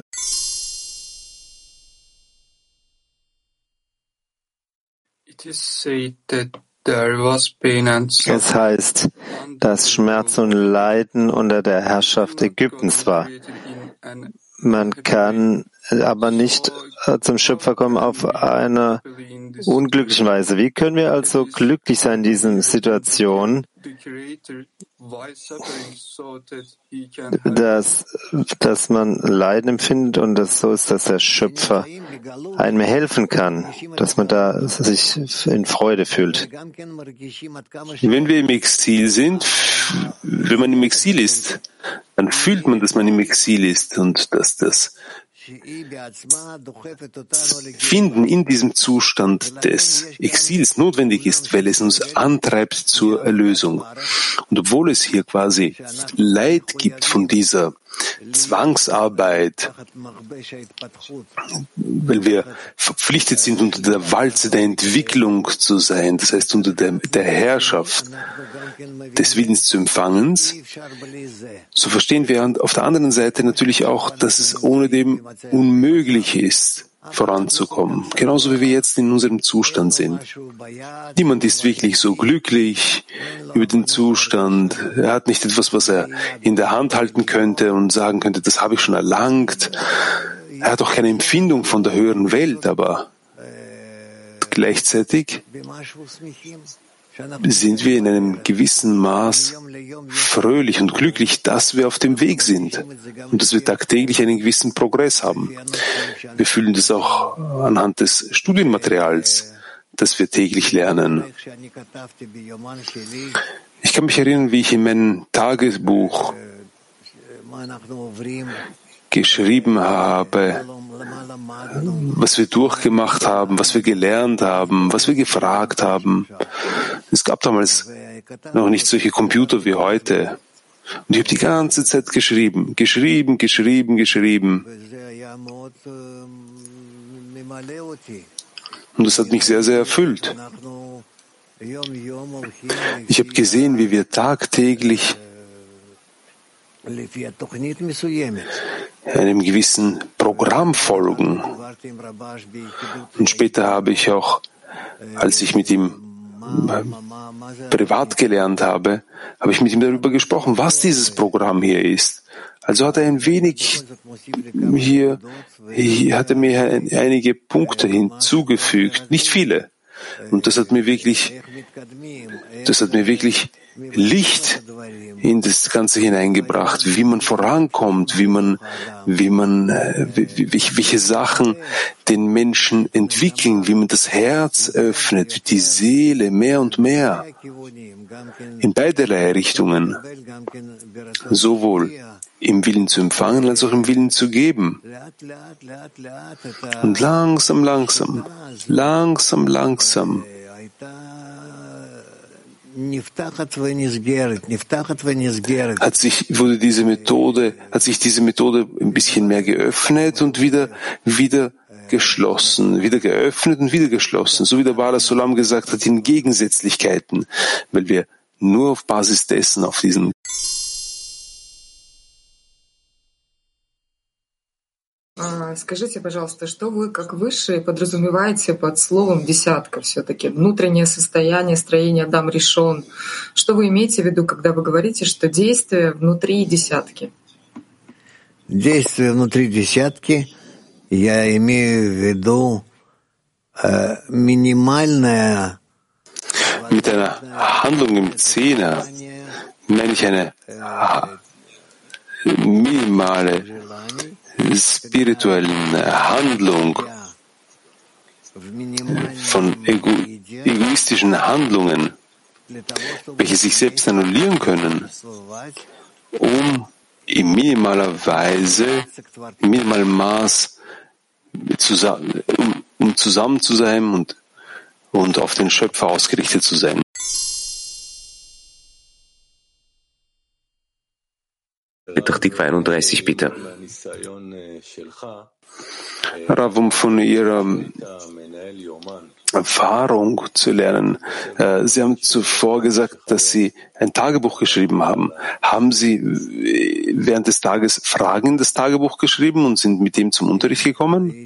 Es heißt, dass Schmerz und Leiden unter der Herrschaft Ägyptens war. Man kann aber nicht zum Schöpfer kommen auf eine unglückliche Weise. Wie können wir also glücklich sein in diesen Situationen, dass, dass man Leiden empfindet und das so ist, dass der Schöpfer einem helfen kann, dass man da sich in Freude fühlt. Wenn wir im Exil sind, wenn man im Exil ist, dann fühlt man, dass man im Exil ist und dass das Finden in diesem Zustand des Exils notwendig ist, weil es uns antreibt zur Erlösung. Und obwohl es hier quasi Leid gibt von dieser Zwangsarbeit, weil wir verpflichtet sind, unter der Walze der Entwicklung zu sein, das heißt unter der, der Herrschaft des Willens zu empfangen, so verstehen wir auf der anderen Seite natürlich auch, dass es ohne dem unmöglich ist, voranzukommen. Genauso wie wir jetzt in unserem Zustand sind. Niemand ist wirklich so glücklich über den Zustand. Er hat nicht etwas, was er in der Hand halten könnte und sagen könnte, das habe ich schon erlangt. er hat auch keine Empfindung von der höheren Welt, aber gleichzeitig sind wir in einem gewissen Maß fröhlich und glücklich, dass wir auf dem Weg sind und dass wir tagtäglich einen gewissen Progress haben. Wir fühlen das auch anhand des Studienmaterials, das wir täglich lernen. Ich kann mich erinnern, wie ich in meinem Tagebuch geschrieben habe, was wir durchgemacht haben, was wir gelernt haben, was wir gefragt haben. Es gab damals noch nicht solche Computer wie heute. Und ich habe die ganze Zeit geschrieben, geschrieben, geschrieben, geschrieben. Und das hat mich sehr, sehr erfüllt. Ich habe gesehen, wie wir tagtäglich einem gewissen Programm folgen. Und später habe ich auch, als ich mit ihm privat gelernt habe, habe ich mit ihm darüber gesprochen, was dieses Programm hier ist. Also hat er ein wenig hier, hier hat er mir einige Punkte hinzugefügt, nicht viele. Und das hat mir wirklich, das hat mir wirklich Licht in das Ganze hineingebracht, wie man vorankommt, wie man, wie man, welche Sachen den Menschen entwickeln, wie man das Herz öffnet, die Seele mehr und mehr in beiderlei Richtungen, sowohl im Willen zu empfangen als auch im Willen zu geben. Und langsam, langsam, langsam, langsam hat sich, wurde diese Methode, hat sich diese Methode ein bisschen mehr geöffnet und wieder, wieder geschlossen, wieder geöffnet und wieder geschlossen. So wie der Bala Solam gesagt hat, in Gegensätzlichkeiten, weil wir nur auf Basis dessen, auf diesen Скажите, пожалуйста, что вы, как высшие, подразумеваете под словом «десятка» все-таки? Внутреннее состояние, строение Адам решен. Что вы имеете в виду, когда вы говорите, что действие внутри десятки? Действие внутри десятки, я имею в виду äh, минимальное... Mit einer Handlung im Zehner meine ich eine minimale spirituellen Handlung von ego egoistischen Handlungen, welche sich selbst annullieren können, um in minimaler Weise, in minimalem Maß zusammen, um, um zusammen zu sein und, und auf den Schöpfer ausgerichtet zu sein. Petach Tikva einunddreißig, bitte. Rav, um von Ihrer Erfahrung zu lernen. Sie haben zuvor gesagt, dass Sie ein Tagebuch geschrieben haben. Haben Sie während des Tages Fragen in das Tagebuch geschrieben und sind mit dem zum Unterricht gekommen?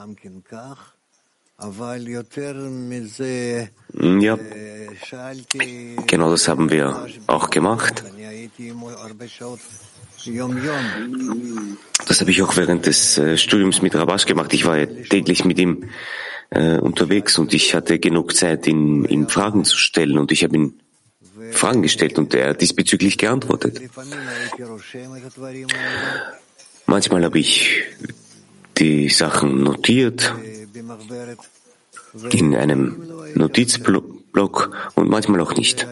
Ja, genau das haben wir auch gemacht. Das habe ich auch während des äh, Studiums mit Rabash gemacht. Ich war ja täglich mit ihm äh, unterwegs und ich hatte genug Zeit, ihn, ihm Fragen zu stellen und ich habe ihm Fragen gestellt und er hat diesbezüglich geantwortet. Manchmal habe ich die Sachen notiert in einem Notizblock und manchmal auch nicht.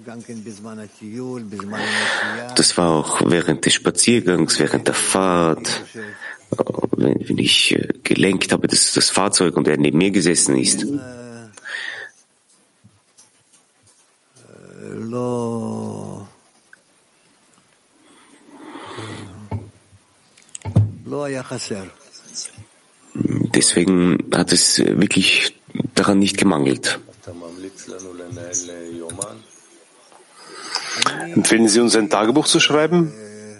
Das war auch während des Spaziergangs, während der Fahrt, wenn ich gelenkt habe, das, das Fahrzeug und er neben mir gesessen ist. Deswegen hat es wirklich daran nicht gemangelt. Empfehlen Sie uns, ein Tagebuch zu schreiben?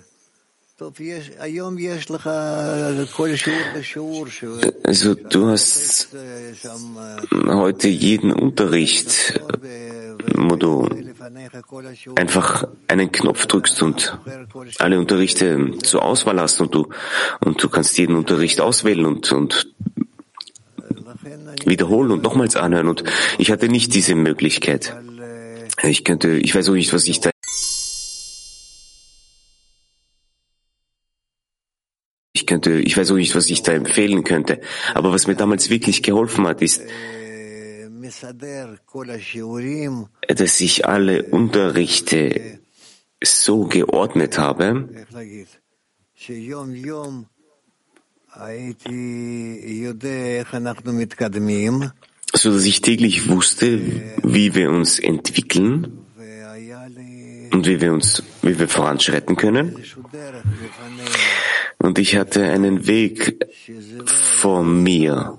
Also du hast heute jeden Unterricht, wo du einfach einen Knopf drückst und alle Unterrichte zur Auswahl hast und du, und du kannst jeden Unterricht auswählen und, und wiederholen und nochmals anhören. Und ich hatte nicht diese Möglichkeit. Ich könnte, ich weiß auch nicht, was ich da Ich könnte, ich weiß auch nicht, was ich da empfehlen könnte. Aber was mir damals wirklich geholfen hat, ist, dass ich alle Unterrichte so geordnet habe, so dass ich täglich wusste, wie wir uns entwickeln und wie wir uns, wie wir voranschreiten können. Und ich hatte einen Weg vor mir,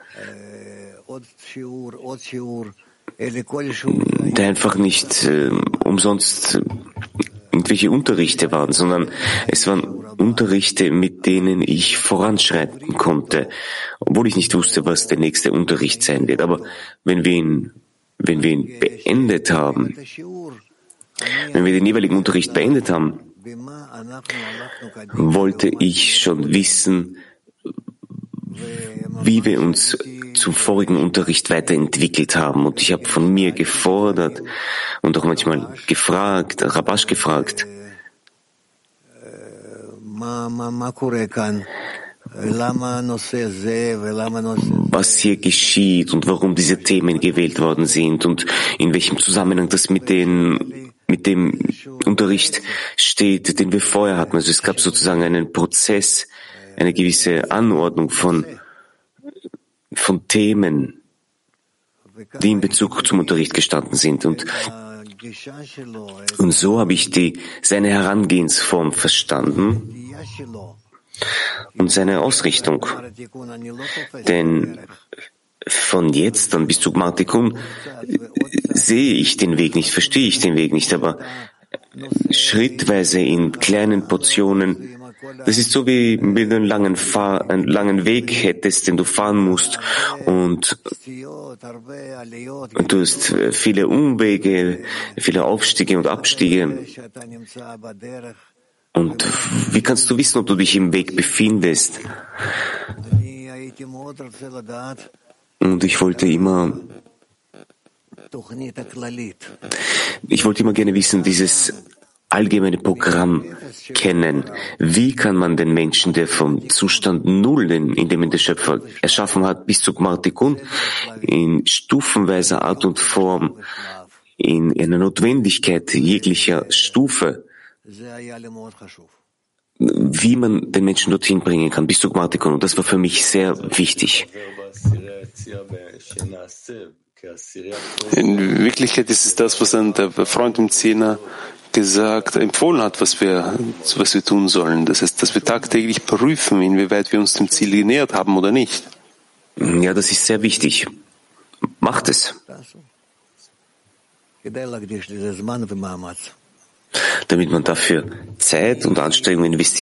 der einfach nicht äh, umsonst irgendwelche Unterrichte waren, sondern es waren Unterrichte, mit denen ich voranschreiten konnte, obwohl ich nicht wusste, was der nächste Unterricht sein wird. Aber wenn wir ihn, wenn wir ihn beendet haben, wenn wir den jeweiligen Unterricht beendet haben, wollte ich schon wissen, wie wir uns zum vorigen Unterricht weiterentwickelt haben. Und ich habe von mir gefordert und auch manchmal gefragt, Rabash gefragt, was hier geschieht und warum diese Themen gewählt worden sind und in welchem Zusammenhang das mit den mit dem Unterricht steht, den wir vorher hatten. Also es gab sozusagen einen Prozess, eine gewisse Anordnung von, von Themen, die in Bezug zum Unterricht gestanden sind. Und, und so habe ich die, seine Herangehensform verstanden und seine Ausrichtung. Denn von jetzt an bis zu Gmar Tikkun sehe ich den Weg nicht, verstehe ich den Weg nicht, aber schrittweise in kleinen Portionen. Das ist so wie wenn du einen langen, Fahr-, einen langen Weg hättest, den du fahren musst und, und du hast viele Umwege, viele Aufstiege und Abstiege. Und wie kannst du wissen, ob du dich im Weg befindest? Und ich wollte immer, ich wollte immer gerne wissen, dieses allgemeine Programm kennen. Wie kann man den Menschen, der vom Zustand Null, in dem ihn der Schöpfer erschaffen hat, bis zu Gmar Tikkun, in stufenweiser Art und Form, in einer Notwendigkeit jeglicher Stufe, wie man den Menschen dorthin bringen kann, bis zu Gmar Tikkun. Und das war für mich sehr wichtig. In Wirklichkeit ist es das, was dann der Freund im Zehner gesagt, empfohlen hat, was wir, was wir tun sollen. Das heißt, dass wir tagtäglich prüfen, inwieweit wir uns dem Ziel genähert haben oder nicht. Ja, das ist sehr wichtig. Macht es. Damit man dafür Zeit und Anstrengung investiert.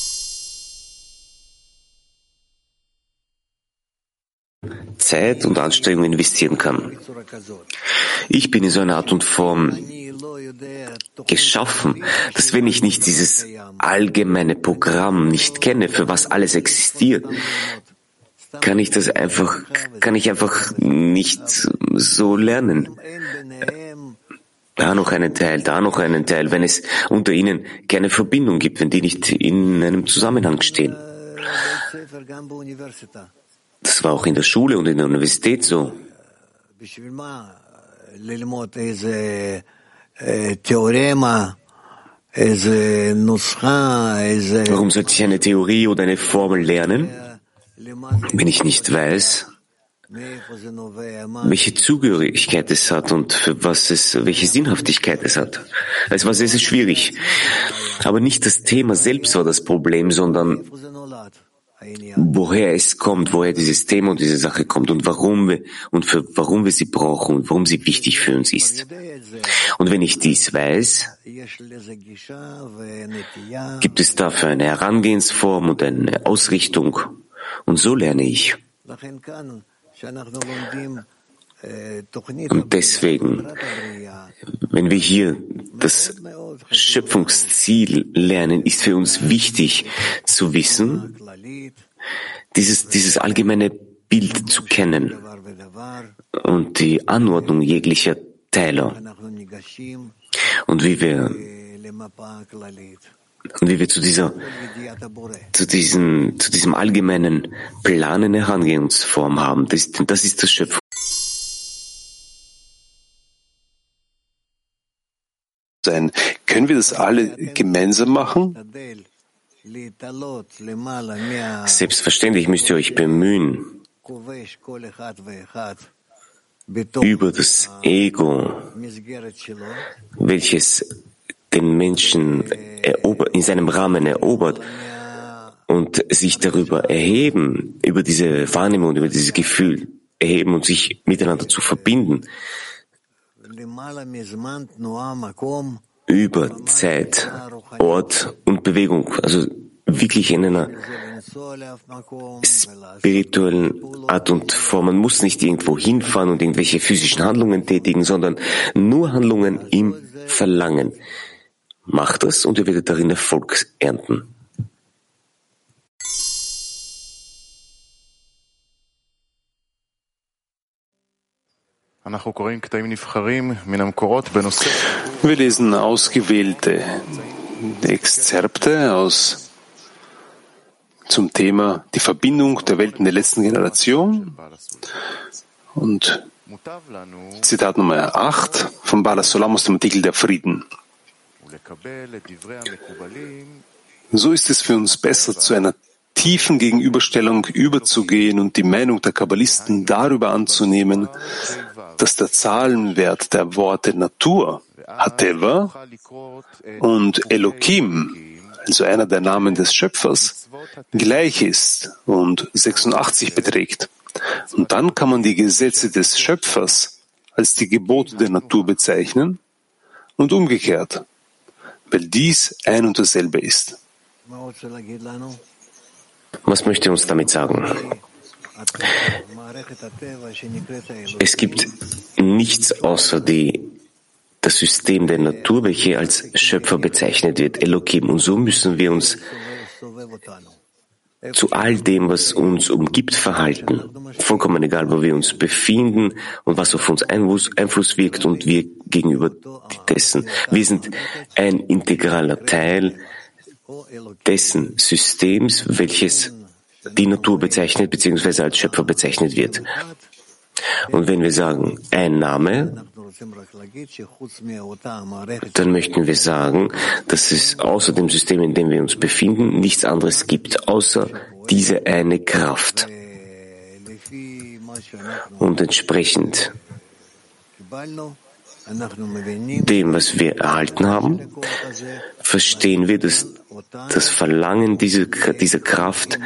Zeit und Anstrengung investieren kann. Ich bin in so einer Art und Form geschaffen, dass wenn ich nicht dieses allgemeine Programm nicht kenne, für was alles existiert, kann ich das einfach, kann ich einfach nicht so lernen. Da noch einen Teil, da noch einen Teil, wenn es unter ihnen keine Verbindung gibt, wenn die nicht in einem Zusammenhang stehen. Das war auch in der Schule und in der Universität so. Warum sollte ich eine Theorie oder eine Formel lernen, wenn ich nicht weiß, welche Zugehörigkeit es hat und für was es, welche Sinnhaftigkeit es hat? Es war sehr, sehr schwierig. Aber nicht das Thema selbst war das Problem, sondern woher es kommt, woher dieses Thema und diese Sache kommt und warum wir und für warum wir sie brauchen und warum sie wichtig für uns ist. Und wenn ich dies weiß, gibt es dafür eine Herangehensform und eine Ausrichtung. Und so lerne ich. Und deswegen, Wenn wir hier das Schöpfungsziel lernen, ist für uns wichtig zu wissen, dieses, dieses allgemeine Bild zu kennen und die Anordnung jeglicher Teile und wie wir und wie wir zu dieser zu diesem zu diesem allgemeinen Plan eine Herangehensform haben. Das, das ist das Schöpfung. Sein. Können wir das alle gemeinsam machen? Selbstverständlich müsst ihr euch bemühen, über das Ego, welches den Menschen erober, in seinem Rahmen erobert und sich darüber erheben, über diese Wahrnehmung, über dieses Gefühl erheben und sich miteinander zu verbinden, über Zeit, Ort und Bewegung, also wirklich in einer spirituellen Art und Form. Man muss nicht irgendwo hinfahren und irgendwelche physischen Handlungen tätigen, sondern nur Handlungen im Verlangen. Macht das und ihr werdet darin Erfolg ernten. Wir lesen ausgewählte Exzerpte aus zum Thema die Verbindung der Welten der letzten Generation und Zitat Nummer acht von Baal HaSulam aus dem Artikel Der Frieden. So ist es für uns besser, zu einer tiefen Gegenüberstellung überzugehen und die Meinung der Kabbalisten darüber anzunehmen, dass der Zahlenwert der Worte Natur, Hateva, und Elokim, also einer der Namen des Schöpfers, gleich ist und sechsundachtzig beträgt. Und dann kann man die Gesetze des Schöpfers als die Gebote der Natur bezeichnen und umgekehrt, weil dies ein und dasselbe ist. Was möchte er uns damit sagen? Es gibt nichts außer die, das System der Natur, welche als Schöpfer bezeichnet wird, Elohim. Und so müssen wir uns zu all dem, was uns umgibt, verhalten. Vollkommen egal, wo wir uns befinden und was auf uns Einfluss wirkt und wir gegenüber dessen. Wir sind ein integraler Teil dessen Systems, welches die Natur bezeichnet bzw. als Schöpfer bezeichnet wird. Und wenn wir sagen, ein Name, dann möchten wir sagen, dass es außer dem System, in dem wir uns befinden, nichts anderes gibt, außer diese eine Kraft. Und entsprechend dem, was wir erhalten haben, verstehen wir, dass das Verlangen dieser, dieser Kraft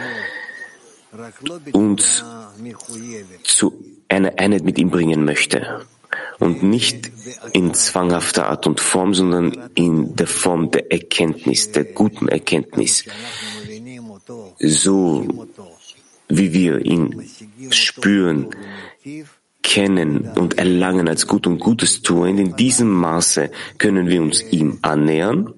uns zu einer Einheit mit ihm bringen möchte. Und nicht in zwanghafter Art und Form, sondern in der Form der Erkenntnis, der guten Erkenntnis. So wie wir ihn spüren, kennen und erlangen als gut und Gutes tun, in diesem Maße können wir uns ihm annähern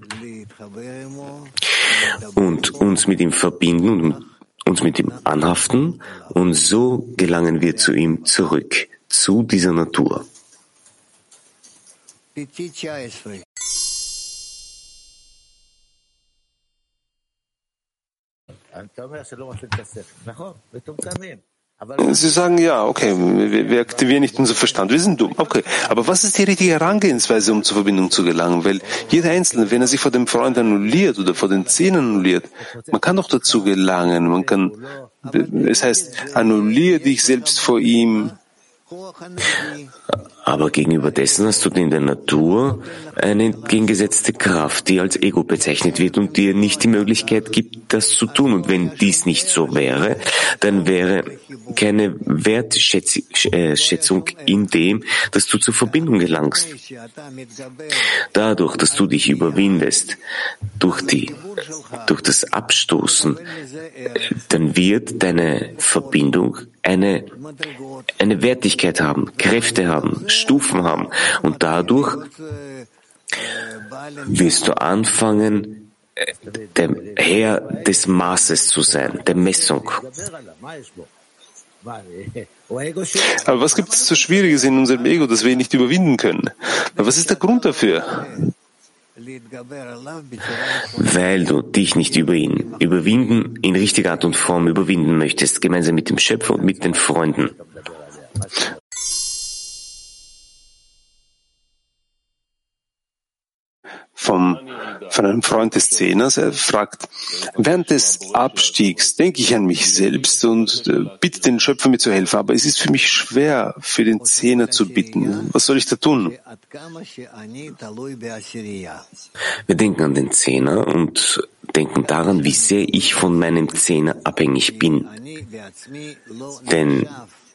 und uns mit ihm verbinden und uns mit ihm anhaften, und so gelangen wir zu ihm zurück, zu dieser Natur. Sie sagen, ja, okay, wir, wir aktivieren nicht unseren Verstand, wir sind dumm. Okay, aber was ist die richtige Herangehensweise, um zur Verbindung zu gelangen? Weil jeder Einzelne, wenn er sich vor dem Freund annulliert oder vor den Zähnen annulliert, man kann doch dazu gelangen. Man kann, es heißt, annulliere dich selbst vor ihm. Aber gegenüber dessen hast du in der Natur eine entgegengesetzte Kraft, die als Ego bezeichnet wird und dir nicht die Möglichkeit gibt, das zu tun. Und wenn dies nicht so wäre, dann wäre keine Wertschätzung in dem, dass du zur Verbindung gelangst. Dadurch, dass du dich überwindest, durch die, durch das Abstoßen, dann wird deine Verbindung eine, eine Wertigkeit haben, Kräfte haben, Stufen haben. Und dadurch wirst du anfangen, der Herr des Maßes zu sein, der Messung. Aber was gibt es so Schwieriges in unserem Ego, das wir nicht überwinden können? Was ist der Grund dafür? Weil du dich nicht über ihn überwinden, in richtiger Art und Form überwinden möchtest, gemeinsam mit dem Schöpfer und mit den Freunden. Vom, von einem Freund des Zehners, er fragt, während des Abstiegs denke ich an mich selbst und äh, bitte den Schöpfer mir zu helfen, aber es ist für mich schwer, für den Zehner zu bitten. Was soll ich da tun? Wir denken an den Zehner und denken daran, wie sehr ich von meinem Zehner abhängig bin. Denn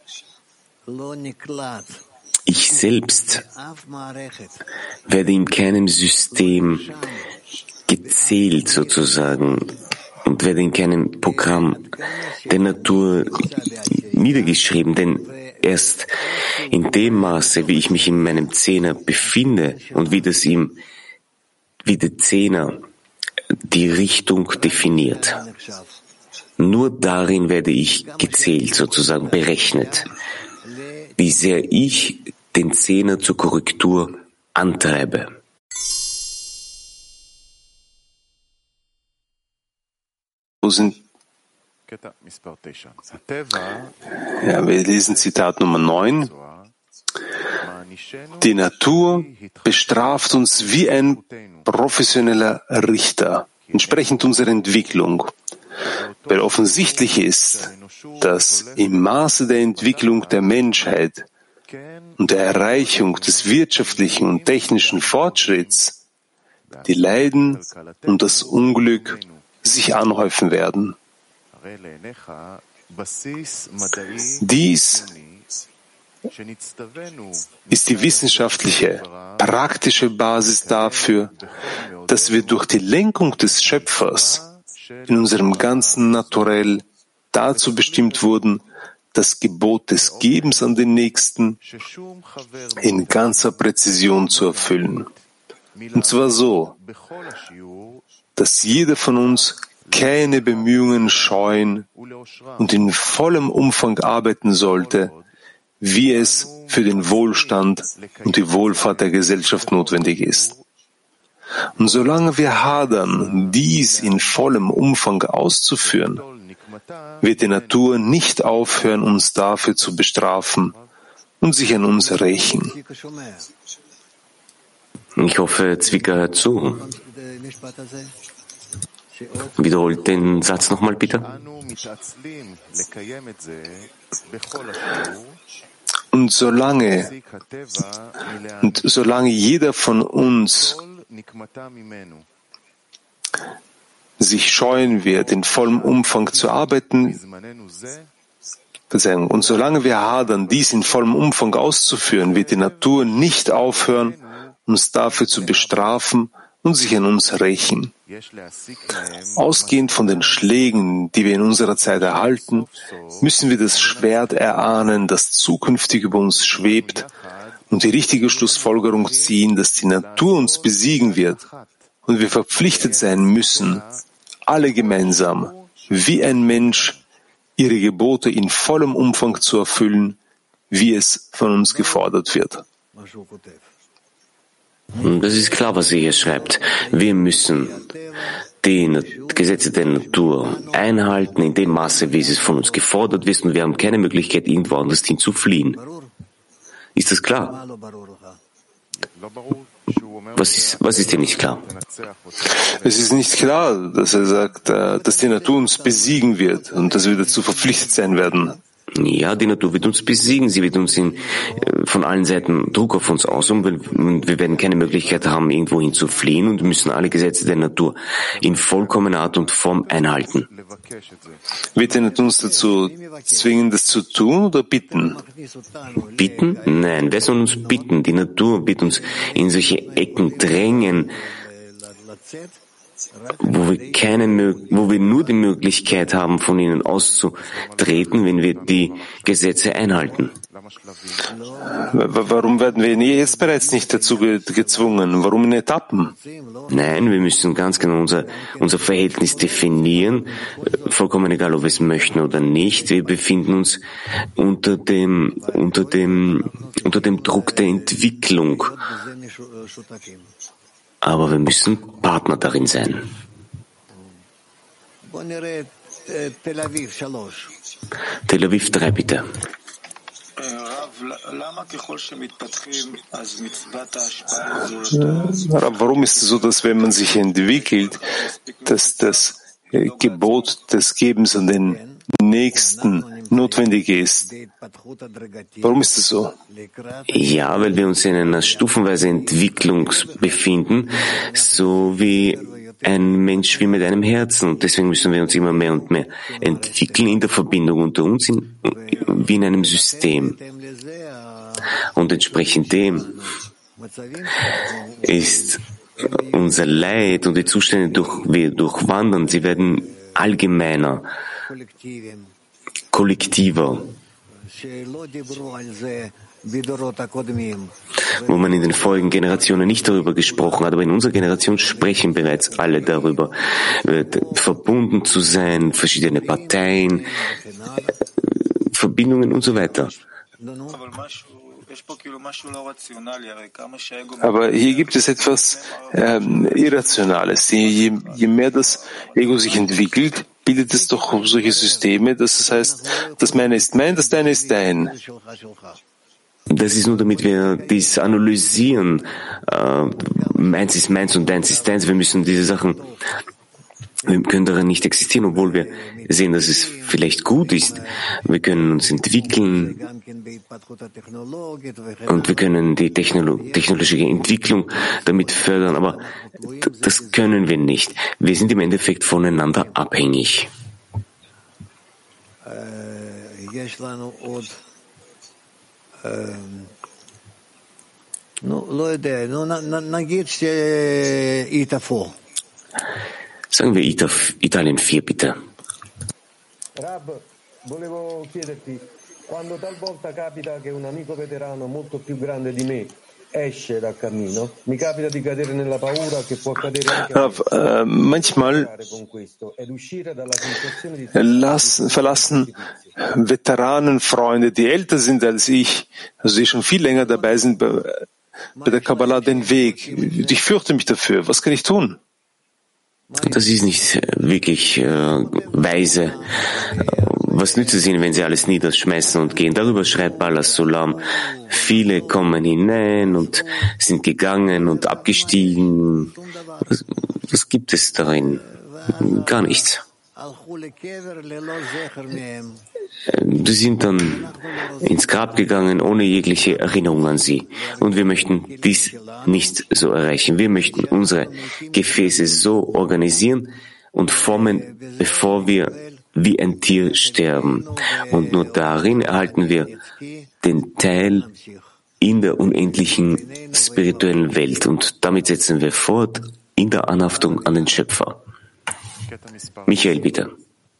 ich selbst werde in keinem System gezählt sozusagen und werde in keinem Programm der Natur niedergeschrieben, denn erst in dem Maße, wie ich mich in meinem Zehner befinde und wie das ihm, wie der Zehner die Richtung definiert, nur darin werde ich gezählt sozusagen, berechnet, wie sehr ich den Zehner zur Korrektur antreibe. Wo sind Ja, wir lesen Zitat Nummer neun. Die Natur bestraft uns wie ein professioneller Richter, entsprechend unserer Entwicklung, weil offensichtlich ist, dass im Maße der Entwicklung der Menschheit und der Erreichung des wirtschaftlichen und technischen Fortschritts die Leiden und das Unglück sich anhäufen werden. Dies ist die wissenschaftliche, praktische Basis dafür, dass wir durch die Lenkung des Schöpfers in unserem ganzen Naturell dazu bestimmt wurden, das Gebot des Gebens an den Nächsten in ganzer Präzision zu erfüllen. Und zwar so, dass jeder von uns keine Bemühungen scheuen und in vollem Umfang arbeiten sollte, wie es für den Wohlstand und die Wohlfahrt der Gesellschaft notwendig ist. Und solange wir hadern, dies in vollem Umfang auszuführen, wird die Natur nicht aufhören, uns dafür zu bestrafen und sich an uns rächen. Ich hoffe, Zwicker hört zu. Wiederholt den Satz nochmal, bitte. Und solange, und solange jeder von uns sich scheuen wird, in vollem Umfang zu arbeiten, Verzeihung, und solange wir hadern, dies in vollem Umfang auszuführen, wird die Natur nicht aufhören, uns dafür zu bestrafen und sich an uns rächen. Ausgehend von den Schlägen, die wir in unserer Zeit erhalten, müssen wir das Schwert erahnen, das zukünftig über uns schwebt, und die richtige Schlussfolgerung ziehen, dass die Natur uns besiegen wird und wir verpflichtet sein müssen, alle gemeinsam, wie ein Mensch, ihre Gebote in vollem Umfang zu erfüllen, wie es von uns gefordert wird. Das ist klar, was er hier schreibt. Wir müssen die Gesetze der Natur einhalten in dem Maße, wie es von uns gefordert wird, und wir haben keine Möglichkeit, irgendwo anders hin zu fliehen. Ist das klar? Was ist, was ist dir nicht klar? Es ist nicht klar, dass er sagt, dass die Natur uns besiegen wird und dass wir dazu verpflichtet sein werden. Ja, die Natur wird uns besiegen. Sie wird uns in, von allen Seiten Druck auf uns ausüben, und wir werden keine Möglichkeit haben, irgendwohin zu fliehen, und müssen alle Gesetze der Natur in vollkommener Art und Form einhalten. Wird er nicht uns dazu zwingen, das zu tun, oder bitten? Bitten? Nein, wer soll uns bitten? Die Natur wird uns in solche Ecken drängen, wo wir keine, wo wir nur die Möglichkeit haben, von ihnen auszutreten, wenn wir die Gesetze einhalten. Warum werden wir jetzt bereits nicht dazu gezwungen? Warum in Etappen? Nein, wir müssen ganz genau unser, unser Verhältnis definieren, vollkommen egal, ob wir es möchten oder nicht. Wir befinden uns unter dem, unter dem, unter dem Druck der Entwicklung. Aber wir müssen Partner darin sein. Tel Aviv drei, bitte. Warum ist es so, dass wenn man sich entwickelt, dass das Gebot des Gebens an den Nächsten notwendig ist? Warum ist es so? Ja, weil wir uns in einer stufenweisen Entwicklung befinden, so wie ein Mensch wie mit einem Herzen. Und deswegen müssen wir uns immer mehr und mehr entwickeln in der Verbindung unter uns, in, wie in einem System. Und entsprechend dem ist unser Leid und die Zustände, durch wir durchwandern, sie werden allgemeiner, kollektiver, wo man in den vorigen Generationen nicht darüber gesprochen hat, aber in unserer Generation sprechen bereits alle darüber, verbunden zu sein, verschiedene Parteien, Verbindungen und so weiter. Aber hier gibt es etwas ähm, Irrationales. Je, je mehr das Ego sich entwickelt, bildet es doch solche Systeme, dass es heißt, das meine ist mein, das deine ist dein. Das ist nur, damit wir dies analysieren. Äh, meins ist meins und deins ist deins. Wir müssen diese Sachen, wir können darin nicht existieren, obwohl wir sehen, dass es vielleicht gut ist. Wir können uns entwickeln und wir können die Technolo- technologische Entwicklung damit fördern, aber das können wir nicht. Wir sind im Endeffekt voneinander abhängig. Sagen wir Italien vier, bitte. Rab, volevo chiederti, quando talvolta capita che un amico veterano molto più grande di me esce dal cammino, mi capita di cadere nella paura che può accadere anche Rav, äh, manchmal con questo ed uscire dalla sensazione di lassen, verlassen Veteranenfreunde, die älter sind als ich, also die schon viel länger dabei sind bei, bei der Kabbalah, den Weg. Ich fürchte mich dafür. Was kann ich tun? Das ist nicht wirklich äh, weise. Was nützt es ihnen, wenn sie alles niederschmeißen und gehen? Darüber schreibt Balas Sulam. Viele kommen hinein und sind gegangen und abgestiegen. Was, was gibt es darin? Gar nichts. Die sind dann ins Grab gegangen, ohne jegliche Erinnerung an sie. Und wir möchten dies nicht so erreichen. Wir möchten unsere Gefäße so organisieren und formen, bevor wir wie ein Tier sterben. Und nur darin erhalten wir den Teil in der unendlichen spirituellen Welt. Und damit setzen wir fort in der Anhaftung an den Schöpfer. Michael, bitte.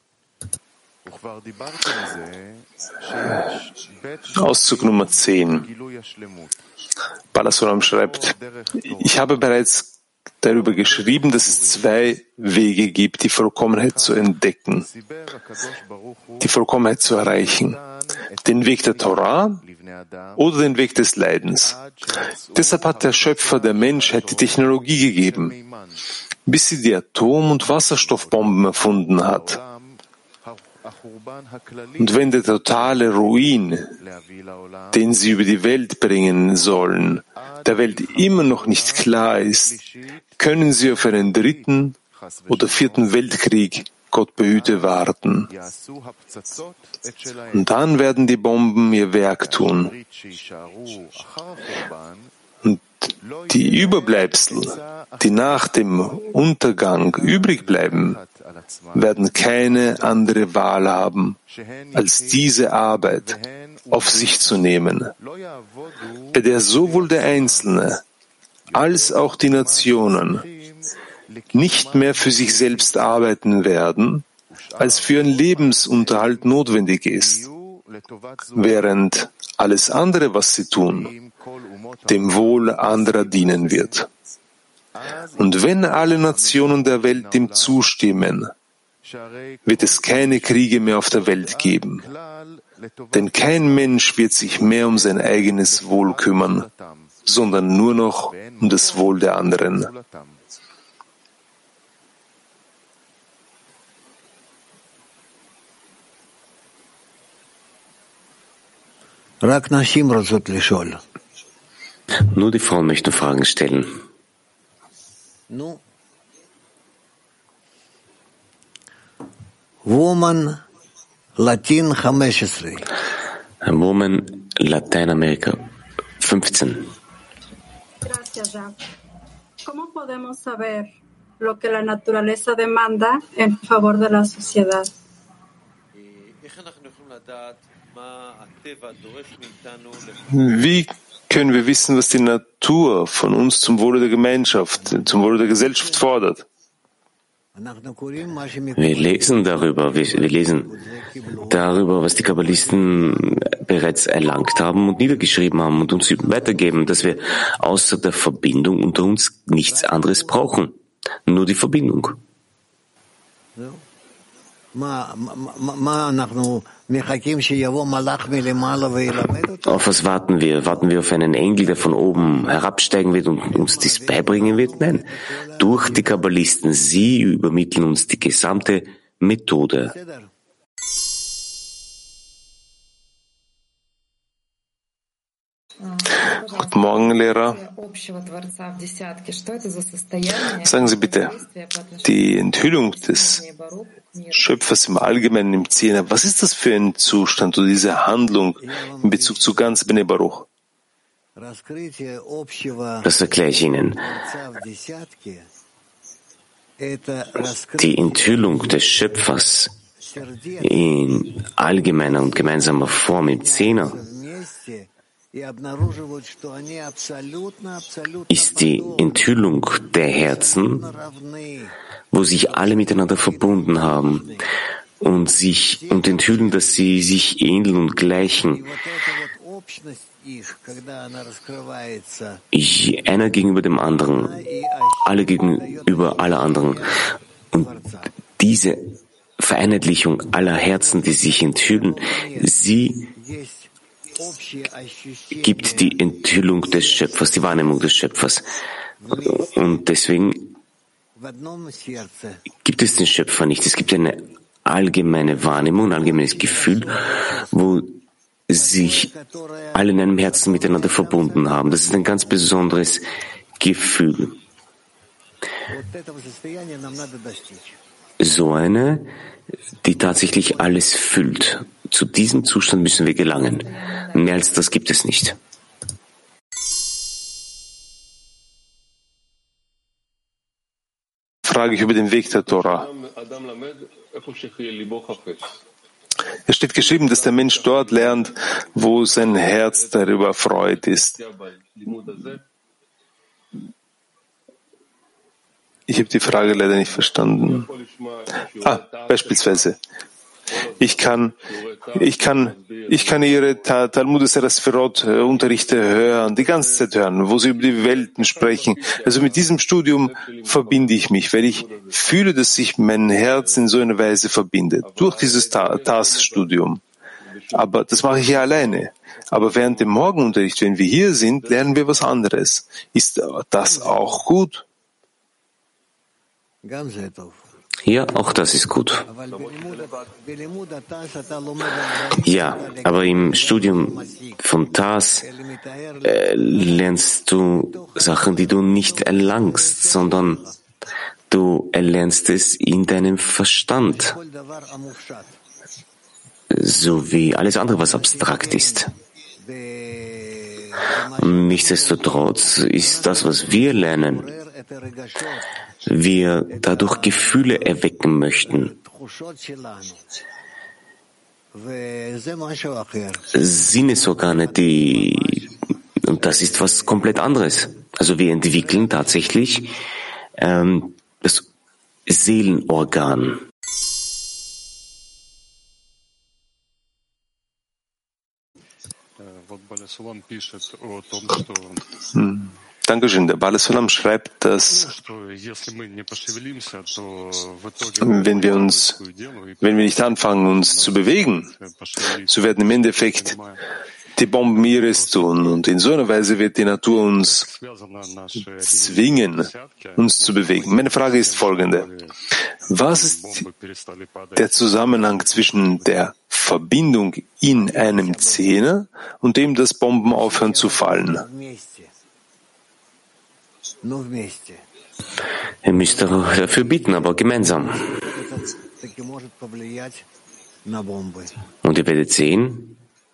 Auszug Nummer zehn. Balas Sulam schreibt, ich habe bereits darüber geschrieben, dass es zwei Wege gibt, die Vollkommenheit zu entdecken, die Vollkommenheit zu erreichen. Den Weg der Torah oder den Weg des Leidens. Deshalb hat der Schöpfer der Menschheit die Technologie gegeben, bis sie die Atom- und Wasserstoffbomben erfunden hat. Und wenn der totale Ruin, den sie über die Welt bringen sollen, der Welt immer noch nicht klar ist, können sie auf einen dritten oder vierten Weltkrieg, Gott behüte, warten. Und dann werden die Bomben ihr Werk tun. Und die Überbleibsel, die nach dem Untergang übrig bleiben, werden keine andere Wahl haben, als diese Arbeit auf sich zu nehmen, bei der sowohl der Einzelne als auch die Nationen nicht mehr für sich selbst arbeiten werden, als für ihren Lebensunterhalt notwendig ist, während alles andere, was sie tun, dem Wohl anderer dienen wird. Und wenn alle Nationen der Welt dem zustimmen, wird es keine Kriege mehr auf der Welt geben. Denn kein Mensch wird sich mehr um sein eigenes Wohl kümmern, sondern nur noch um das Wohl der anderen. Nur die Frauen möchten Fragen stellen. Woman Latin fünfzehn. Woman Lateinamerika fünfzehn. Gracias, Rav. ¿Cómo podemos saber lo que la naturaleza demanda en favor de la sociedad? Wie können wir wissen, was die Natur von uns zum Wohle der Gemeinschaft, zum Wohle der Gesellschaft fordert? Wir lesen darüber, wir, wir lesen darüber, was die Kabbalisten bereits erlangt haben und niedergeschrieben haben und uns weitergeben, dass wir außer der Verbindung unter uns nichts anderes brauchen. Nur die Verbindung. Auf was warten wir? Warten wir auf einen Engel, der von oben herabsteigen wird und uns dies beibringen wird? Nein, durch die Kabbalisten. Sie übermitteln uns die gesamte Methode. Guten Morgen, Lehrer. Sagen Sie bitte, die Enthüllung des Schöpfers im Allgemeinen im Zehner, was ist das für ein Zustand oder diese Handlung in Bezug zu ganz Bnei Baruch? Das erkläre ich Ihnen. Die Enthüllung des Schöpfers in allgemeiner und gemeinsamer Form im Zehner ist die Enthüllung der Herzen, wo sich alle miteinander verbunden haben und sich und enthüllen, dass sie sich ähneln und gleichen. Ich, einer gegenüber dem anderen, alle gegenüber aller anderen. Und diese Vereinheitlichung aller Herzen, die sich enthüllen, sie gibt die Enthüllung des Schöpfers, die Wahrnehmung des Schöpfers. Und deswegen gibt es den Schöpfer nicht. Es gibt eine allgemeine Wahrnehmung, ein allgemeines Gefühl, wo sich alle in einem Herzen miteinander verbunden haben. Das ist ein ganz besonderes Gefühl. So eine, die tatsächlich alles füllt. Zu diesem Zustand müssen wir gelangen. Mehr als das gibt es nicht. Frage ich über den Weg der Tora. Es steht geschrieben, dass der Mensch dort lernt, wo sein Herz darüber erfreut ist. Ich habe die Frage leider nicht verstanden. Ah, beispielsweise. Ich kann, ich kann, ich kann Ihre Talmud Sefirot Unterrichte hören, die ganze Zeit hören, wo Sie über die Welten sprechen. Also mit diesem Studium verbinde ich mich, weil ich fühle, dass sich mein Herz in so einer Weise verbindet, durch dieses T A S-Studium. Aber das mache ich ja alleine. Aber während dem Morgenunterricht, wenn wir hier sind, lernen wir was anderes. Ist das auch gut? Ja, auch das ist gut. Ja, aber im Studium von T A S äh, lernst du Sachen, die du nicht erlangst, sondern du erlernst es in deinem Verstand, so wie alles andere, was abstrakt ist. Nichtsdestotrotz ist das, was wir lernen, wir dadurch Gefühle erwecken möchten. Sinnesorgane, die, und das ist was komplett anderes. Also wir entwickeln tatsächlich ähm, das Seelenorgan. Hm. Dankeschön. Der Bala Sulam schreibt, dass wenn wir uns, wenn wir nicht anfangen, uns zu bewegen, so werden im Endeffekt die Bomben ihres tun. Und in so einer Weise wird die Natur uns zwingen, uns zu bewegen. Meine Frage ist folgende. Was ist der Zusammenhang zwischen der Verbindung in einem Zehner und dem, dass Bomben aufhören zu fallen? Ihr müsst dafür bitten, aber gemeinsam. Und ihr werdet sehen,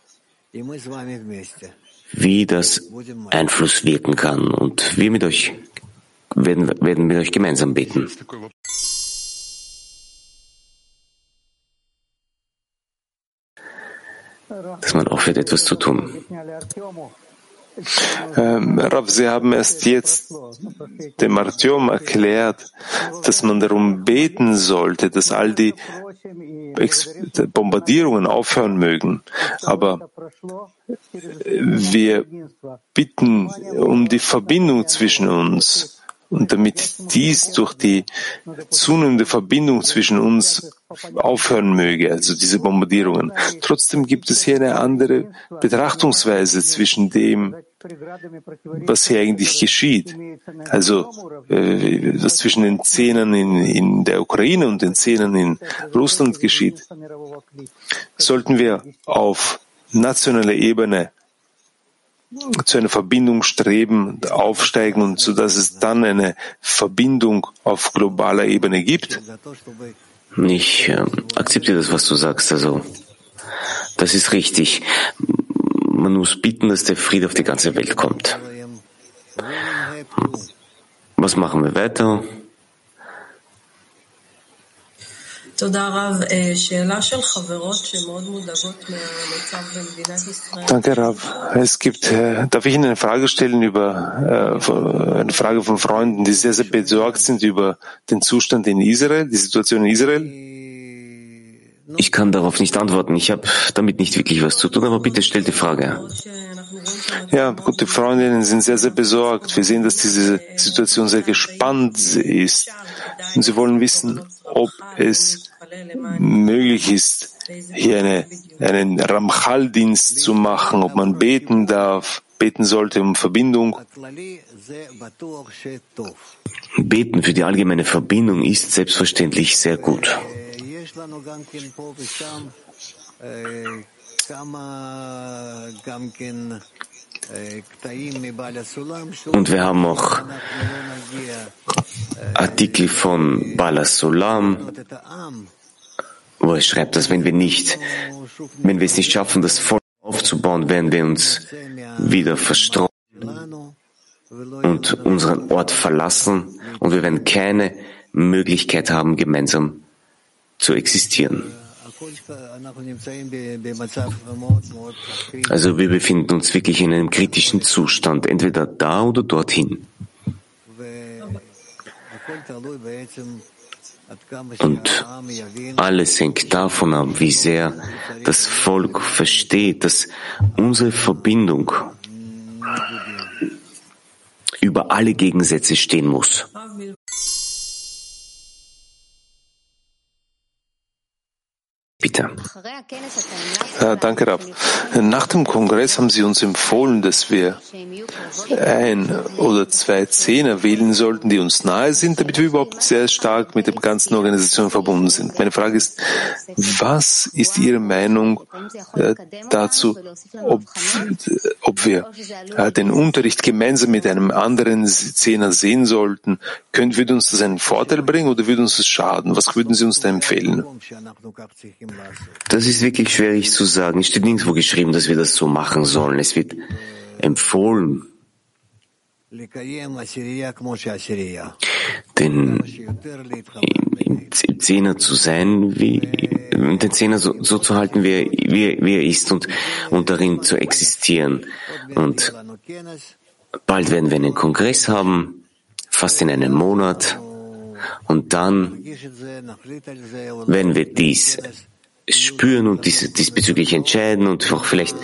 wie das Einfluss wirken kann. Und wir mit euch werden, werden mit euch gemeinsam beten. Dass man aufhört, etwas zu tun. Ähm, Rav, Sie haben erst jetzt dem Artyom erklärt, dass man darum beten sollte, dass all die Bombardierungen aufhören mögen. Aber wir bitten um die Verbindung zwischen uns. Und damit dies durch die zunehmende Verbindung zwischen uns aufhören möge, also diese Bombardierungen. Trotzdem gibt es hier eine andere Betrachtungsweise zwischen dem, was hier eigentlich geschieht. Also äh, was zwischen den Zehnern in, in der Ukraine und den Zehnern in Russland geschieht. Sollten wir auf nationaler Ebene zu einer Verbindung streben, aufsteigen und so, dass es dann eine Verbindung auf globaler Ebene gibt? Ich äh, akzeptiere das, was du sagst. Also, das ist richtig. Man muss bitten, dass der Friede auf die ganze Welt kommt. Was machen wir weiter? Danke, Rav. Es gibt, äh, darf ich Ihnen eine Frage stellen über äh, eine Frage von Freunden, die sehr, sehr besorgt sind über den Zustand in Israel, die Situation in Israel? Ich kann darauf nicht antworten. Ich habe damit nicht wirklich was zu tun, aber bitte stell die Frage. Ja, gute Freundinnen sind sehr, sehr besorgt. Wir sehen, dass diese Situation sehr gespannt ist. Und sie wollen wissen, ob es möglich ist, hier eine, einen Ramchal-Dienst zu machen, ob man beten darf, beten sollte um Verbindung. Beten für die allgemeine Verbindung ist selbstverständlich sehr gut. Und wir haben auch Artikel von Bala Sulam, wo er schreibt, dass wenn wir nicht, wenn wir es nicht schaffen, das Volk aufzubauen, werden wir uns wieder verstreuen und unseren Ort verlassen und wir werden keine Möglichkeit haben, gemeinsam zu existieren. Also wir befinden uns wirklich in einem kritischen Zustand, entweder da oder dorthin. Und alles hängt davon ab, wie sehr das Volk versteht, dass unsere Verbindung über alle Gegensätze stehen muss. Bitte. Ja, danke, Rav. Nach dem Kongress haben Sie uns empfohlen, dass wir ein oder zwei Zehner wählen sollten, die uns nahe sind, damit wir überhaupt sehr stark mit der ganzen Organisation verbunden sind. Meine Frage ist, was ist Ihre Meinung äh, dazu, ob, ob wir äh, den Unterricht gemeinsam mit einem anderen Zehner sehen sollten? Können, würde uns das einen Vorteil bringen oder würde uns das schaden? Was würden Sie uns da empfehlen? Das ist wirklich schwierig zu sagen. Es steht nirgendwo geschrieben, dass wir das so machen sollen. Es wird empfohlen, den im, im Zehner zu sein, wie den Zehner so, so zu halten, wie er, wie, wie er ist und, und darin zu existieren. Und bald werden wir einen Kongress haben, fast in einem Monat. Und dann werden wir dies spüren und dies, diesbezüglich entscheiden und auch vielleicht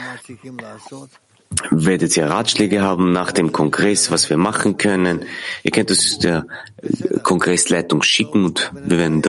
werdet ihr Ratschläge haben nach dem Kongress, was wir machen können. Ihr könnt es der Kongressleitung schicken und wir werden